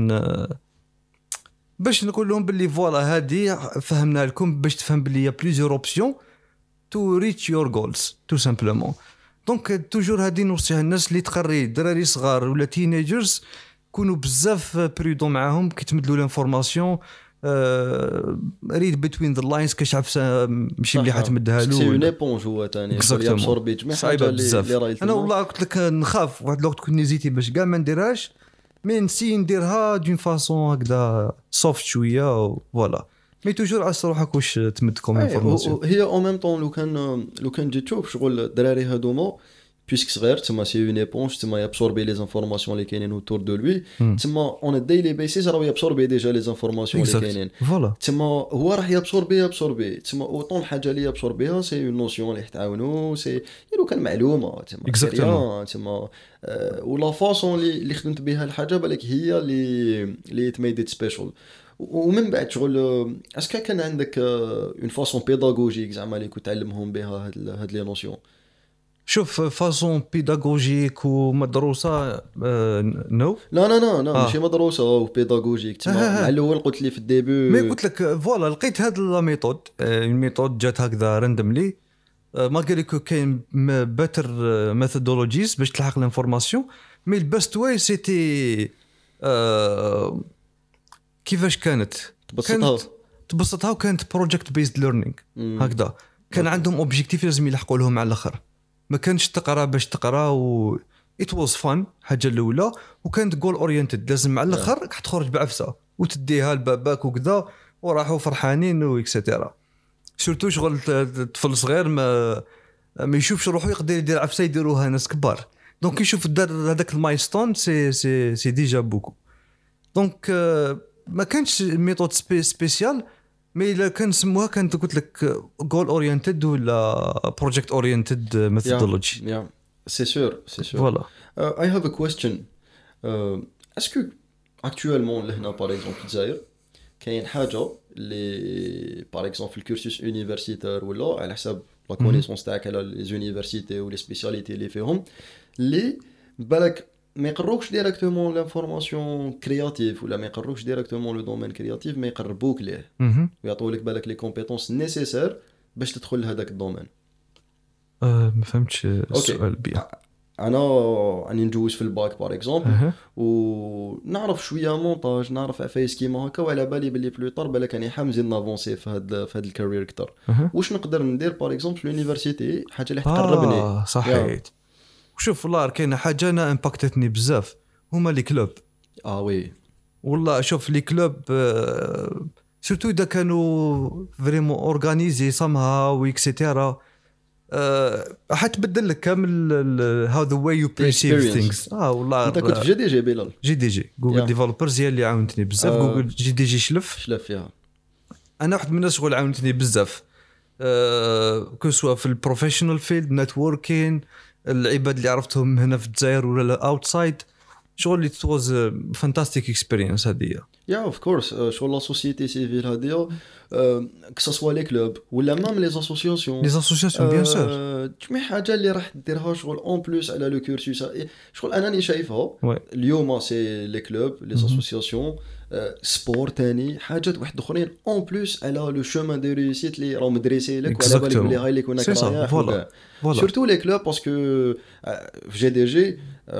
باش نقول لهم باللي فوالا هادي فهمنا لكم باش تفهم باللي يا بليزيور اوبسيون تو ريتش يور جولز تو سامبلومون. دونك توجور هادي نوصيها الناس اللي تقري دراري صغار ولا تينيجرز كونوا بزاف برودون معاهم كي تمدلوا لانفورماسيون ريد بين ذا لاينز كاش عارف ماشي مليحه تمدها له سي اون ايبونج هو ثاني يابسوربي جميع حاجه اللي رايت. انا والله قلت لك نخاف واحد الوقت كنت نزيتي باش كاع ما نديرهاش مي نسي نديرها دون فاصون هكذا سوفت شويه فوالا مي توجور عس روحك واش تمدكم انفورماسيون. هي او ميم طون لو كان جيت تشوف شغل الدراري هذوما puisque صغير تما سي اون ايبونج تما يابسوربي لي انفورماسيون اللي كاينين اوتور دو لوي تما اون ا ديلي بيسيس راه يابسوربي ديجا لي انفورماسيون اللي كاينين فوالا تما هو راح يابسوربي تما اوطون الحاجه اللي يابسوربيها سي اون نوسيون اللي يتعاونوا سي لو كان معلومه تما ولا فاصون اللي خدمت بها الحاجه بالك هي اللي تميدت سبيشال. ومن بعد شغل اسكا كان عندك اون فاصون بيداغوجيك زعما اللي كنت تعلمهم بها هاد لي نوسيون. شوف فاصون بيداغوجيك ومدروسه نو لا ماشي مدروسه وبيداغوجيك تما مع الاول قلت لي في الديبي مي قلت لك فوالا لقيت هاد لا ميثود الميثود جات هكذا راندملي ما قال لك كاين باتر ميثودولوجيز باش تلحق الانفورماسيون مي البست واي سيتي كيفاش كانت تبسطها وكانت بروجكت بيزد ليرنينغ هكذا كان عندهم اوبجيكتيف لازم يلحقوا لهم على الاخر ما كانش تقرا باش تقرا و it was fun حاجه الاولى وكانت جول اورينتد لازم على الاخر راح تخرج بعفسه وتديها لباباك وكذا وراحوا فرحانين واكسترا سورتو شغل طفل صغير ما يشوفش روحو يقدر يدير عفسه يديروها ناس كبار دونك يشوف دار هذاك المايلستون سي ديجا بوكو دونك ما كانش ميثود سبيسيال مي الا كان سموها كانت قلت لك جول اورينتد ولا بروجكت اورينتد ميثودولوجي سي سور فوالا. I have a question. Est-ce que actuellement لهنا باغ اكزومبل في الجزائر كاين حاجه اللي باغ اكزومبل في الكورسوس يونيفرسيتير ولا على حساب لا كونيسونس تاعك على لي يونيفرسيتي ولي سبيسياليتي اللي فيهم اللي بالك ما يقروكش ديريكتومون لانفورماسيون كرياتيف ولا ما يقروكش ديريكتومون لو دومين كرياتيف ما يقربوك ليه ويعطوا لك بالك لي كومبيتونس نيسيسير باش تدخل لهذاك الدومين. ما فهمتش السؤال بيان. انا راني ندوز في الباك باغ اكزومبل ونعرف شويه مونتاج نعرف عفايس كيما هكا وعلى بالي بلي بلوطار بالك راني حامزين نافونسي في هاد الكارير اكثر واش نقدر ندير باغ اكزومبل في اليونيفرسيتي حاجه اللي تقربني. صحيت. وشوف والله كاينه حاجه انا امباكتتني بزاف هما لي كلوب. وي والله شوف لي كلوب سورتو اذا كانوا فريمون اورغانيزي سامها ويكسيتيرا حتبدل لك كامل هاو ذا واي يو بيرسيف ثينجز. والله انت كنت في جي بلال جي جوجل ديفلوبرز هي اللي عاونتني بزاف. جوجل جي شلف فيها. انا واحد من الناس شغل عاونتني بزاف كو سوا في البروفيشنال فيلد نتوركين العباد اللي عرفتهم هنا في الجزائر ولا اوتسايد شغل it was a fantastic experience هذه. اوف كورس شغل لا سوسيتي سيفيل هذه كسوا لي كلوب ولا مام لي اسوسياسيون بيان سور جميع حاجه اللي راح ديرها شغل اون بلوس على لو كورسوس شغل انا شايفها اليوم سي لي كلوب لي اسوسياسيون سبور تاني حاجات واحد اخرين اون بلوس على لو شومان دو ريوسيت اللي راهم مدرسي لك وعلى بالك بلي هاي اللي كنا رايح سورتو لي كلوب باسكو في جي دي جي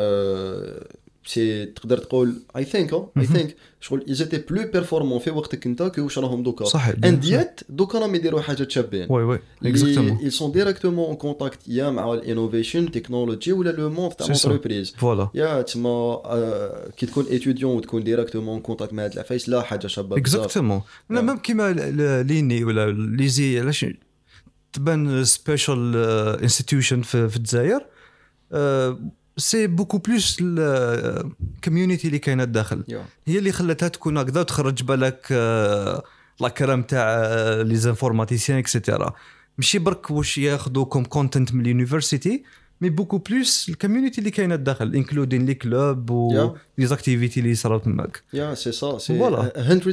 سي تقدر تقول اي ثينك شغل ايزيتي بلو بيرفورمون في وقتك انت كيواش راهم دوكا انديات دوكا راهم يديروا حاجات شابين وي اكزاكتومون ils sont directement en contact يا مع الانوفيشن تكنولوجي ولا لو موند تاع لونتربريز فوالا يا تما كي تكون ايتوديون وتكون ديريكتومون كونتاكت مع هاد العفايس لا حاجه شابه اكزاكتومون لا ميم كيما ليني ولا ليزي علاش تبان سبيشال انستيتيوشن في الجزائر سي بوكو بلوس الكوميونيتي اللي كاينه الداخل هي اللي خلاتها تكون هكذا وتخرج بالك لا كرام تاع لي زانفورماتيسيان اكسيتيرا ماشي برك واش ياخذوكم كونتنت من اليونيفرسيتي مي بوكو بلوس الكوميونيتي اللي كاينه الداخل انكلودين لي كلوب و لي زاكتيفيتي اللي صراو تماك يا سي سا سي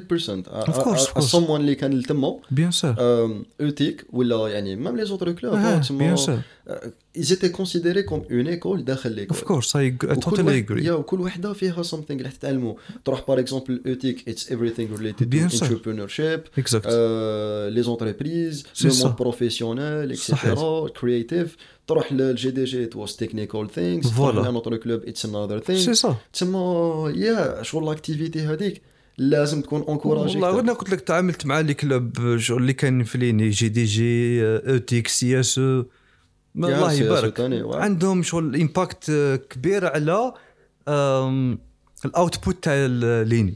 100% someone اللي كان تما بيان سور اوتيك ولا يعني ميم لي زوتر كلوب تما ils étaient considérés comme une école داخل l'école. Of course, I totally agree. Yeah, وكل وحدة فيها something اللي تتعلموا. تروح par exemple l'éthique, it's everything related to entrepreneurship, les entreprises, le monde professionnel, etc. Creative. تروح للجي دي جي it was technical things. تروح لنوتر club, it's another thing. C'est ça. تسمى yeah شغل الاكتيفيتي هذيك لازم تكون انكوراجي. والله انا قلت لك تعاملت مع لي كلوب اللي كان في ليني جي دي جي اوتيك سي اس او الله يبارك عندهم شغل امباكت كبير على الاوتبوت تاع ليني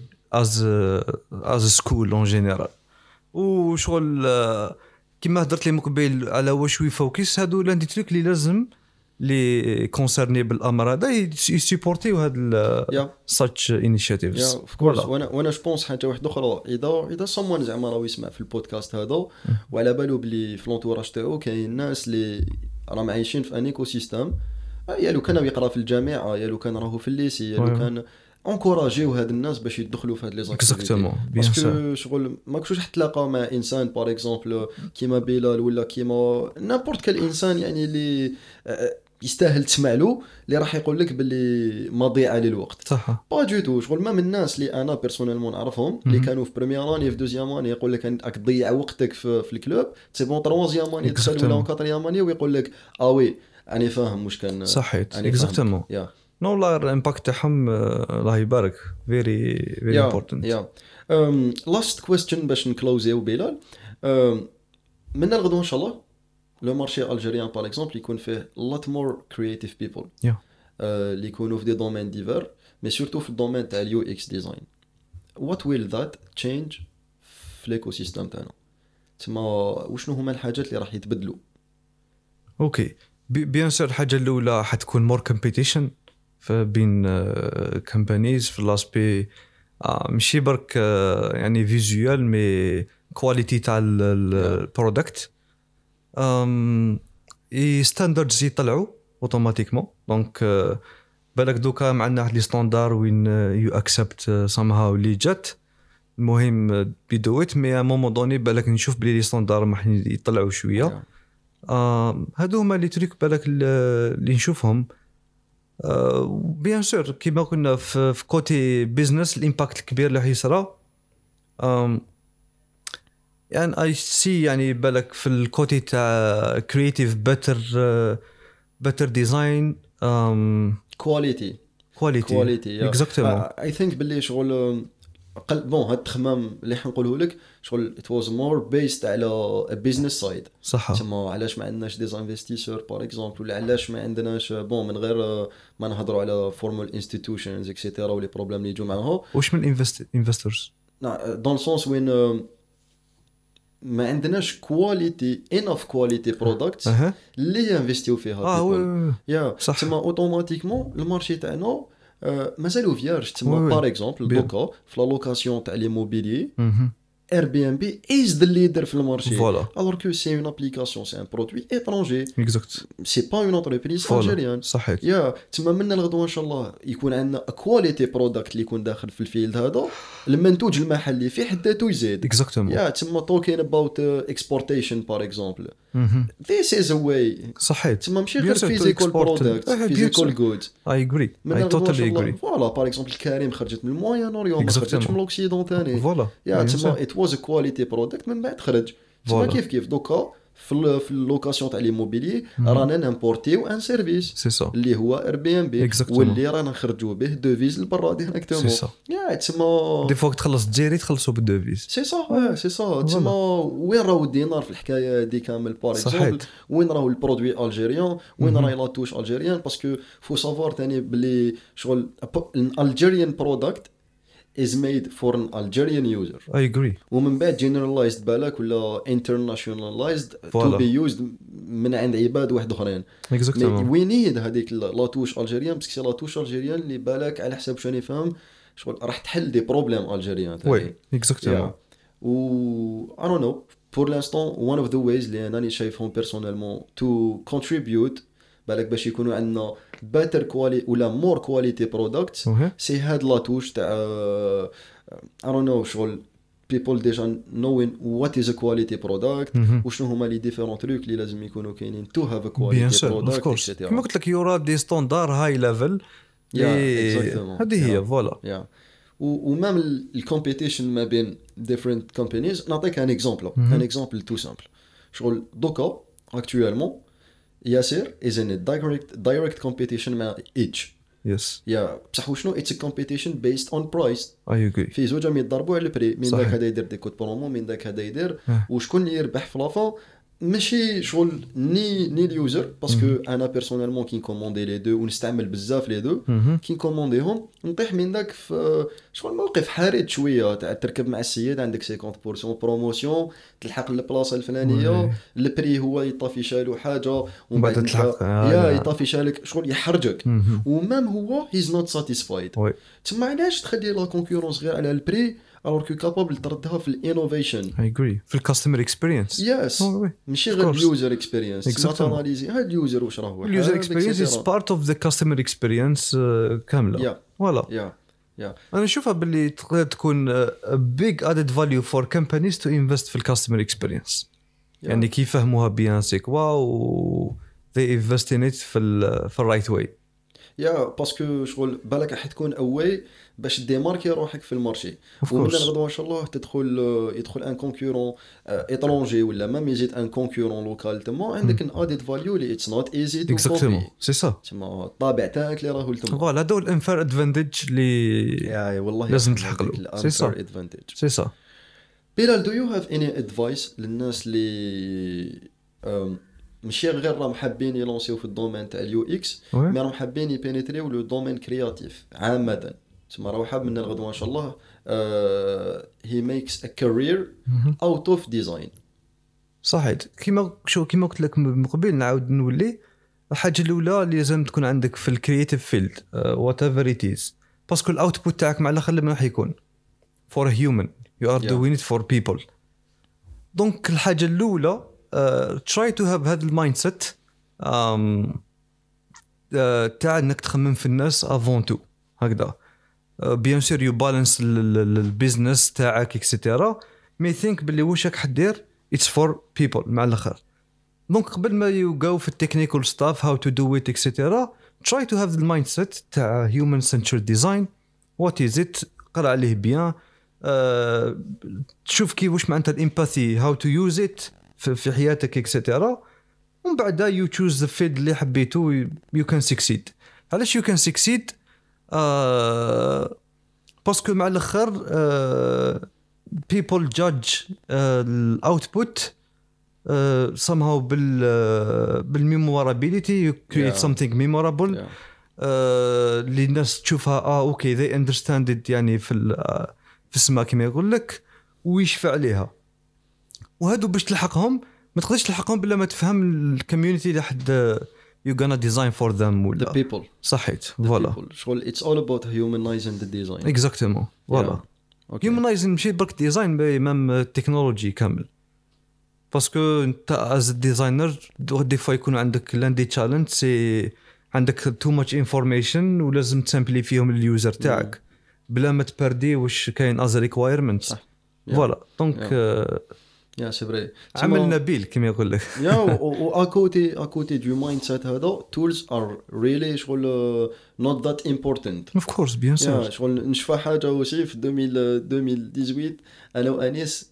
از سكول اون جينيرال وشغل كما هضرت لي مقبل على واش يفوكس هادو لاندي تريك اللي لازم لي كونسيرني بالامر هذا يسيبورتيو هاد such initiatives. وانا جو بونس حاجه واحده اخرى اذا someone زعما راه يسمع في البودكاست هذا وعلى بالو بلي في لونتوراج تاعو كاين الناس اللي راهم عايشين في ان ايكو سيستيم يا لو كان يقرا في الجامعه يا لو كان راهو في الليسي يا لو كان انكوراجيو هاد الناس باش يدخلوا في هاد لي زاكتيفيتي باسكو شغل ماكش حتلاقى مع انسان باغ اكزومبل كيما بلال ولا كيما نابورت كال انسان يعني اللي يستاهل تسمع له اللي راح يقول لك باللي مضيعه للوقت صح با دو تو شغل ما من الناس اللي انا بيرسونيلمون نعرفهم اللي كانوا في بريمير اني في دوزيام اني يقول لك راك تضيع وقتك في الكلوب سي بون تروازيام اني دخل ولا كاتريام اني ويقول لك وي انا فاهم واش كان صحيت اكزاكتومون نو والله الامباكت تاعهم الله يبارك فيري امبورطنت لاست كويستشن باش نكلوزيو بلال من الغدوه ان شاء الله لو مارشي الجيريان باغ اكزومبل يكون فيه لوت مور كرييتيف بيبل اللي يكونوا في دي دومين ديفير مي سورتو في الدومين تاع اليو اكس ديزاين وات ويل ذات تشينج في ليكو سيستم تاعنا تما وشنو هما الحاجات اللي راح يتبدلوا اوكي بيان سور الحاجه الاولى حتكون مور كومبيتيشن بين كومبانيز في لاسبي ماشي برك يعني فيزوال مي كواليتي تاع البرودكت ستاندردز يطلعوا اوتوماتيكمون دونك بالك دوكا معنا لي ستاندار وين يو اكسبت سامهاو اللي جات المهم بيدويت مي ا مومون دوني بالك نشوف بلي لي ستاندار راح يطلعوا شويه هادو هما لي تريك بالك اللي نشوفهم بيان سور كيما قلنا في كوتي بيزنس الامباكت الكبير اللي حيصرا يعني اي سي يعني بالك في الكوتي تاع كرييتيف بيتر ديزاين كواليتي اكزاكتومون اي ثينك باللي شغل بون هاد التخمام اللي حنقوله لك شغل it was more based على business side صح تما علاش ما عندناش دي انفستيسور باغ اكزومبل ولا علاش ما عندناش بون من غير ما نهضروا على فورمال انستيتيوشنز اكسيتيرا ولي بروبليم اللي يجوا معاها واش من انفستورز دون سونس وين ما عندناش كواليتي انف كواليتي برودكتس اللي ينفستيو فيها يا تما اوتوماتيكمون المارشي تاعنا مازالو فيارج تما باغ اكزومبل دوكا في لا لوكاسيون تاع لي موبيلي Airbnb is the leader في المارشي alors que c'est une application c'est un produit étranger exact c'est pas une entreprise algérienne صحيح يا تما من الغدوه ان شاء الله يكون عندنا كواليتي برودكت اللي يكون داخل في الفيلد هذا المنتوج المحلي في حد ذاته يزيد exactement يا تما talking about exportation par exemple this is a way صحيح تما ماشي غير physical product physical goods I agree I totally agree فوالا par exemple الكريم خرجت من الموين اوريون ما خرجتش من الاوكسيدون ثاني فوالا يا تما it was a quality product من بعد خرج تما كيف دوكا في اللوكاسيون تاع ليموبيلي رانا نامبورتيو ان سيرفيس اللي هو Airbnb واللي رانا نخرجوا به دوفيز لبرا ديريكتومون يا تما دي فوق تخلص الجزائري تخلصوا بالدوفيز سي سا تما وين راهو الدينار في الحكايه دي كامل باغ اكزومبل وين راهو البرودوي الجيريان وين راهي لا توش الجيريان باسكو فو سافوار ثاني بلي شغل الجيريان برودكت is made for an Algerian user. I agree. ومن بعد generalized بالك ولا internationalized to be used من عند عباد واحد اخرين. Exactly. We need هذيك لاتوش الجيريان باسكو لاتوش الجيريان اللي بالك على حسب شنو نفهم شغل راح تحل دي بروبليم الجيريان. وي exactement. و I don't know pour l'instant one of the ways اللي انا شايفهم personnellement to contribute بالك باش يكونوا عندنا better quality ولا more quality products سي هاد لا توش تاع I don't know شغل people déjà knowing what is a quality product وشنو هما لي ديفيرون تروك اللي لازم يكونوا كاينين to have a quality product etc. كما قلت لك يورا دي ستاندار هاي ليفل هذه هي فوالا. ومام الكومبيتيشن ما بين different companies نعطيك ان اكزامبل تو سامبل. شغل دوكا اكطوالمون ياسر is in a direct competition مع ايتش. يس يا بصح وشنو اتس كومبيتيشن بيست اون برايس. اي اغري في زوج يضربوا على البري من داك هذا يدير دي كود برومو من داك هذا يدير وشكون اللي يربح في لافون ماشي شغل ني اليوزر باسكو انا بيرسونيلمون كي نكوموندي لي دو ونستعمل بزاف لي دو كي نكومونديهم نطيح من داك في شغل موقف حرج شويه تاع تركب مع السيد عندك 50% بروموسيون تلحق البلاصه الفلانيه البري هو يطافي شالو حاجه ومن بعد تلحق يطافي شالك شغل يحرجك ومام هو هيز نوت ساتيسفايد. تما علاش تخلي لا كونكورونس غير على البري alors que capable تردها في الانوفيشن. I agree في الكاستمر اكسبيرينس. يس ماشي غير اليوزر اكسبيرينس. ما تاناليزي هاد اليوزر واش راهو. اليوزر اكسبيرينس از بارت اوف ذا كاستمر اكسبيرينس كامله. فوالا. انا نشوفها باللي تقدر تكون big added value for companies to invest في الكاستمر اكسبيرينس. يعني كي يفهموها بيان سيكوا و they invest in it في الرايت واي. يا باسكو شغل بالك راح تكون اوي باش ديماركي روحك في المارشي ومن الغدوه ان شاء الله يدخل ان كونكورون ايترونجي ولا ما يزيد ان كونكورون لوكال تما عندك ان اديد فاليو اللي اتس نوت ايزي تو كوبي. سي سا تما الطابع تاعك اللي راهو تما فوالا هذا هو الانفير ادفانتج اللي والله لازم تلحق له. سي سا بلال دو يو هاف اني ادفايس للناس اللي ماشي غير راهم حابين يلونسيو في الدومين تاع اليو اكس مي راهم حابين يبينيتريو لو دومين كرياتيف عامه تما راه حاب من الغدوه ان شاء الله هي ميكس ا كارير اوت اوف ديزاين. صحيح كيما قلت لك من قبل نعاود نولي الحاجه الاولى اللي لازم تكون عندك في الكرياتيف فيلد وات ايفر ات از باسكو الاوتبوت تاعك مع الاخر لما راح يكون فور هيومن يو ار دوين ات فور بيبل. دونك الحاجه الاولى try to have هذا المايند سيت تاع انك تخمم في الناس افون تو هكذا. بيان سور يو بالانس البيزنس تاعك اكسيتيرا مي ثينك باللي واش راك حدير اتس فور بيبل مع الاخر. دونك قبل ما يو جو في التكنيكال ستاف هاو تو دو ات اكسيتيرا try to have the mindset تاع human centered design what is it قرا عليه بيان تشوف كي واش معناتها الامباثي how to use it في حياتك اكسيتيرا ومن بعد يو تشوز ذا فيلد اللي حبيتو يو كان سكسيد. علاش يو كان سكسيد باسكو مع الاخر people judge الاوتبوت somehow بالميمورابيليتي you create something memorable اللي الناس تشوفها اوكي they understand it يعني في السما كما يقول لك ويشفع عليها. وهادو باش تلحقهم ما تقدرش تلحقهم بلا ما تفهم الكوميونيتي اللي حد you gonna design for them ولا the people. صحيت فوالا شغل it's all about humanizing the design. exactement فوالا humanizing ماشي برك ديزاين ميم التكنولوجي كامل باسكو انت as a designer دي فوا يكون عندك لاندي تشالنج سي عندك too much information ولازم تسامبلي فيهم اليوزر تاعك بلا ما تبردي واش كاين as a requirement. فوالا دونك يا سي فري عمل نبيل كما يقول لك. يا اكوتي دو مايند سيت هذا tools are really شغل not that important of course bien sûr. شغل نشوف حاجه وشي في 2018 انا وانيس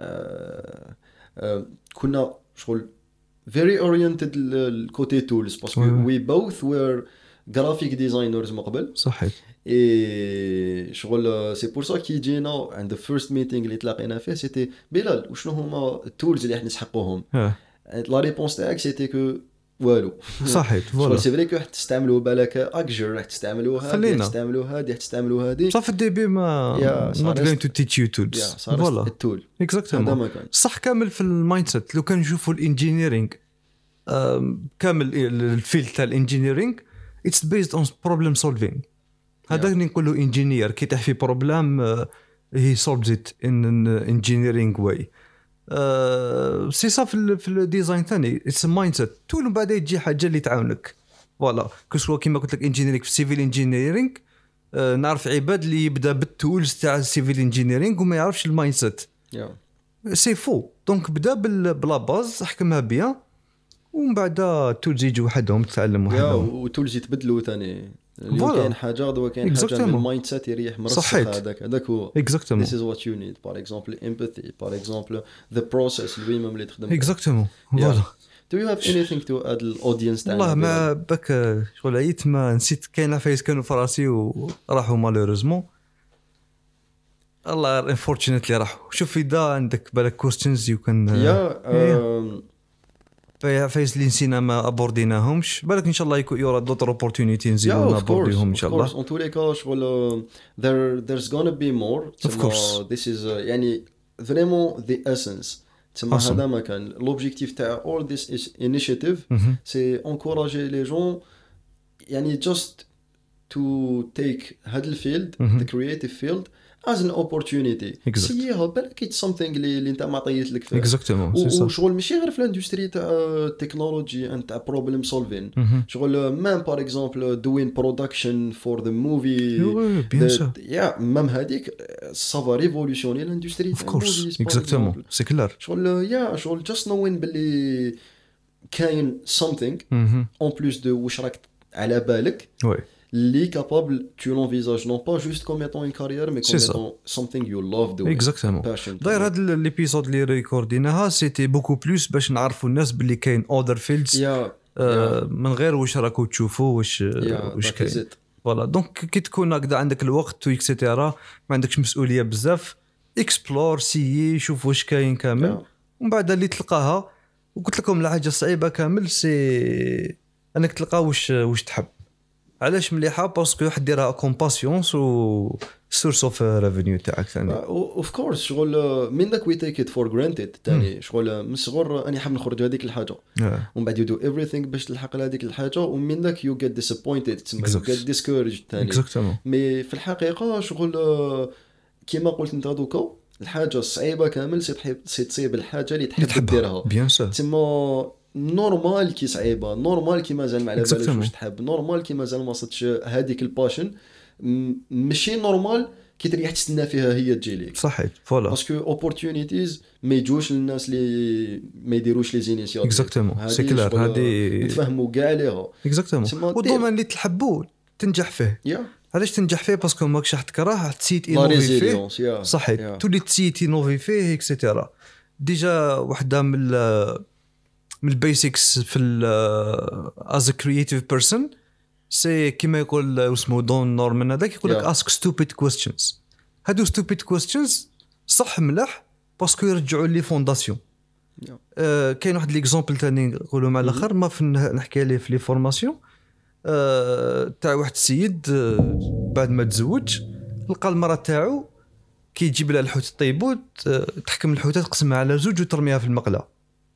كنا شغل very oriented الكوتي tools باسكو we both were graphic designers من قبل. صحيح اي شغل سي بور سا كي جينا عند الفيرست ميتينغ اللي تلاقينا فيه سيتي بلال وشنو هما التولز اللي احنا نسحقوهم. لا ريبونس تاعك سيتي كو والو. صحيح فوالا سي فري كو راح تستعملوا بالك اكجر راح تستعملوها راح تستعملوا هذه صافي الديبي ما not going to teach you tools. فوالا التول اكزاكتومون صح كامل في المايند سيت. لو كان نشوفوا الانجينيرينغ كامل الفيلد تاع الانجينيرينغ it's based on problem solving. هذا اللي نقولوا انجينير كي تحفي بروبلام he solves it in an engineering way. سي صا في الديزاين ثاني it's a mindset. تول بعد يجي حاجه اللي تعاونك فوالا كسوا كيما قلت لك انجينيرينغ في سيفيل انجينيرينغ نعرف عباد اللي يبدا بالتولز تاع السيفيل انجينيرينغ وما يعرفش المايند سيت سي فو دونك بدا بلا باز احكمها بيان ومن بعد التولز يجوا وحدهم تتعلم وحدهم والتولز يتبدلوا ثاني كاين حاجه دابا كاين حاجه من المايند سيت يريح مرسخ هذاك هو exactement this is what you need par exemple empathy par exemple the process المهم اللي تخدم exactement فوالا do you have anything to add للاودينس تاعنا والله ما بك شغل عييت ما نسيت كاين عفايس كانوا في راسي وراحوا مالوريزمون الله unfortunately راحوا شوف اذا عندك بالك كويستشنز يو كان فايز اللي نسينا ما ابورديناهمش بالك ان شاء الله يورا دوتر اوبورتونيتي نزيدو نابورديهم ان شاء الله on tous les cas شغل there's gonna be more of course this is يعني vraiment the essence تسمى هذا ما كان l'objectif تاع all this initiative c'est encourager les gens يعني just to take هذا الفيلد the creative field as an opportunity سيها بالك it's something اللي انت ما عطيت لك فيه وشغل ماشي غير في الاندستري تاع التكنولوجي انت تاع بروبلم سولفين شغل مام بار اكزومبل دوين برودكشن فور ذا موفي يا مام هذيك سافا ريفولوشني الاندستري اوف كورس اكزاكتومون سي كلار شغل يا شغل جاست نوين باللي كاين something en plus de واش راك على بالك li capable tu l'envisages non pas juste comme étant une carrière mais comme étant something you love doing exactement d'ailleurs هذا الابيسود اللي ريكورديناها سيتي بوكو بلوس باش نعرفوا الناس باللي كاين other fields من غير واش راكو تشوفوا واش كاين فوالا دونك كي تكون هكذا عندك الوقت وإكسيتيرا ما عندكش مسؤوليه بزاف اكسبلور سي شوف واش كاين كامل ومن بعد اللي تلقاها وقلت لكم الحاجه الصعيبه كامل سي انك تلقى واش تحب علاش مليحه باسكو واحد ديرها كومباسيونس و سورس اوف ريفينيو تاعك ثاني اوف كورس شغل منك وي تيك ات فور جرانتد ثاني شغل من صغر اني حاب نخرج هذيك الحاجه ومن بعد يو دو ايفريثينغ باش تلحق لهذيك الحاجه ومنك يو جيت ديسابوينتد تسمى يو جيت ديسكوريجد ثاني مي في الحقيقه شغل كيما قلت انت دوكا الحاجه الصعيبه كامل سي تصيب الحاجه اللي تحب ديرها تسمى نورمال كي صعيبه نورمال كي مازال ما على بالكش واش تحب نورمال كي مازال ما صدتش هذيك الباشن ماشي نورمال كي تريح تستنى فيها هي تجي لك صحيح فوالا باسكو اوبورتونيتيز ما يجوش للناس اللي ما يديروش لي زينيسياتيف اكزاكتومون سي كلار هذه نتفاهموا كاع ليها اكزاكتومون والدومين اللي تحبوا تنجح فيه علاش تنجح فيه باسكو ماكش راح تكره تسيت انوفي فيه صحيح تولي تسيت انوفي فيه اكسيتيرا ديجا وحده من البيسكس في as a creative person سي كيما يقول اسمه دون نورمان هذاك يقول لك ask stupid questions هادو stupid questions صح ملاح باسكو يرجعوا لي فونداسيون كاين واحد ليكزامبل ثاني نقولوا مع الاخر ما في نحكي عليه في لي فورماسيون تاع واحد السيد بعد ما تزوج لقى المراه تاعو كي يجيب لها الحوت طيبوت تحكم الحوته تقسمها على زوج وترميها في المقله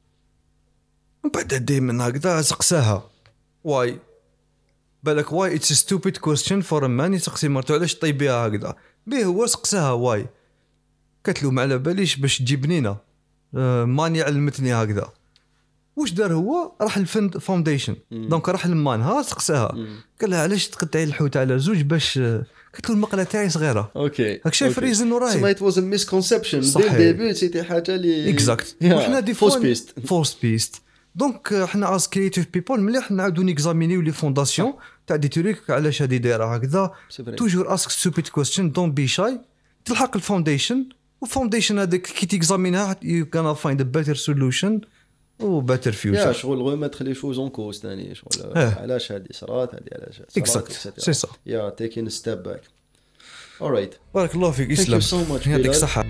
بعد دائما هكذا سقساها واي بالك واي اتس ستوبيد كويستشن فور ا مان يسقسي مرته علاش طيبيها هكذا به هو سقساها واي قالت له ما على باليش باش تجيبنينا ماني علمتني هكذا واش دار هو راح الفاونديشن دونك راح لمانها سقساها قال لها علاش تقطعي الحوت على زوج باش قلت له المقله تاعي صغيره اوكي هاك شايف ريزن وراي سما ات واز ا ميسكونسبشن دي ديبي سيتي حاجه لي اكزاكت وحنا دي فورس بيست دونك حنا از كرييتيف بيبل مليح نعاودو نيكزامينيو لي فونداسيون تاع دي توريك علاش هادي دايره هكذا توجور اسك ستوبيد كويستشن دون بي شاي تلحق الفاونديشن والفاونديشن هذاك كي تيكزامينها يو كان فايند ا بيتر سوليوشن و بيتر فيوتشر يا شغل غير ما تخلي شوز اون كوز ثاني شغل علاش هادي صرات هادي علاش اكزاكت سي سا يا تيكين ستيب باك alright بارك الله فيك اسلام يعطيك الصحه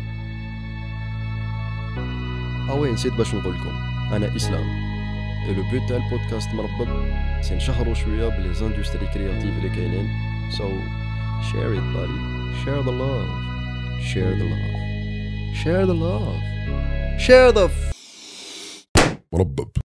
وين نسيت باش نقول لكم انا اسلام et le but تاع البودكاست مربط سي نشهروا شويه بلي زاندستري كرياتيف اللي كاينين so share it buddy share the love share the love share the love share the مربب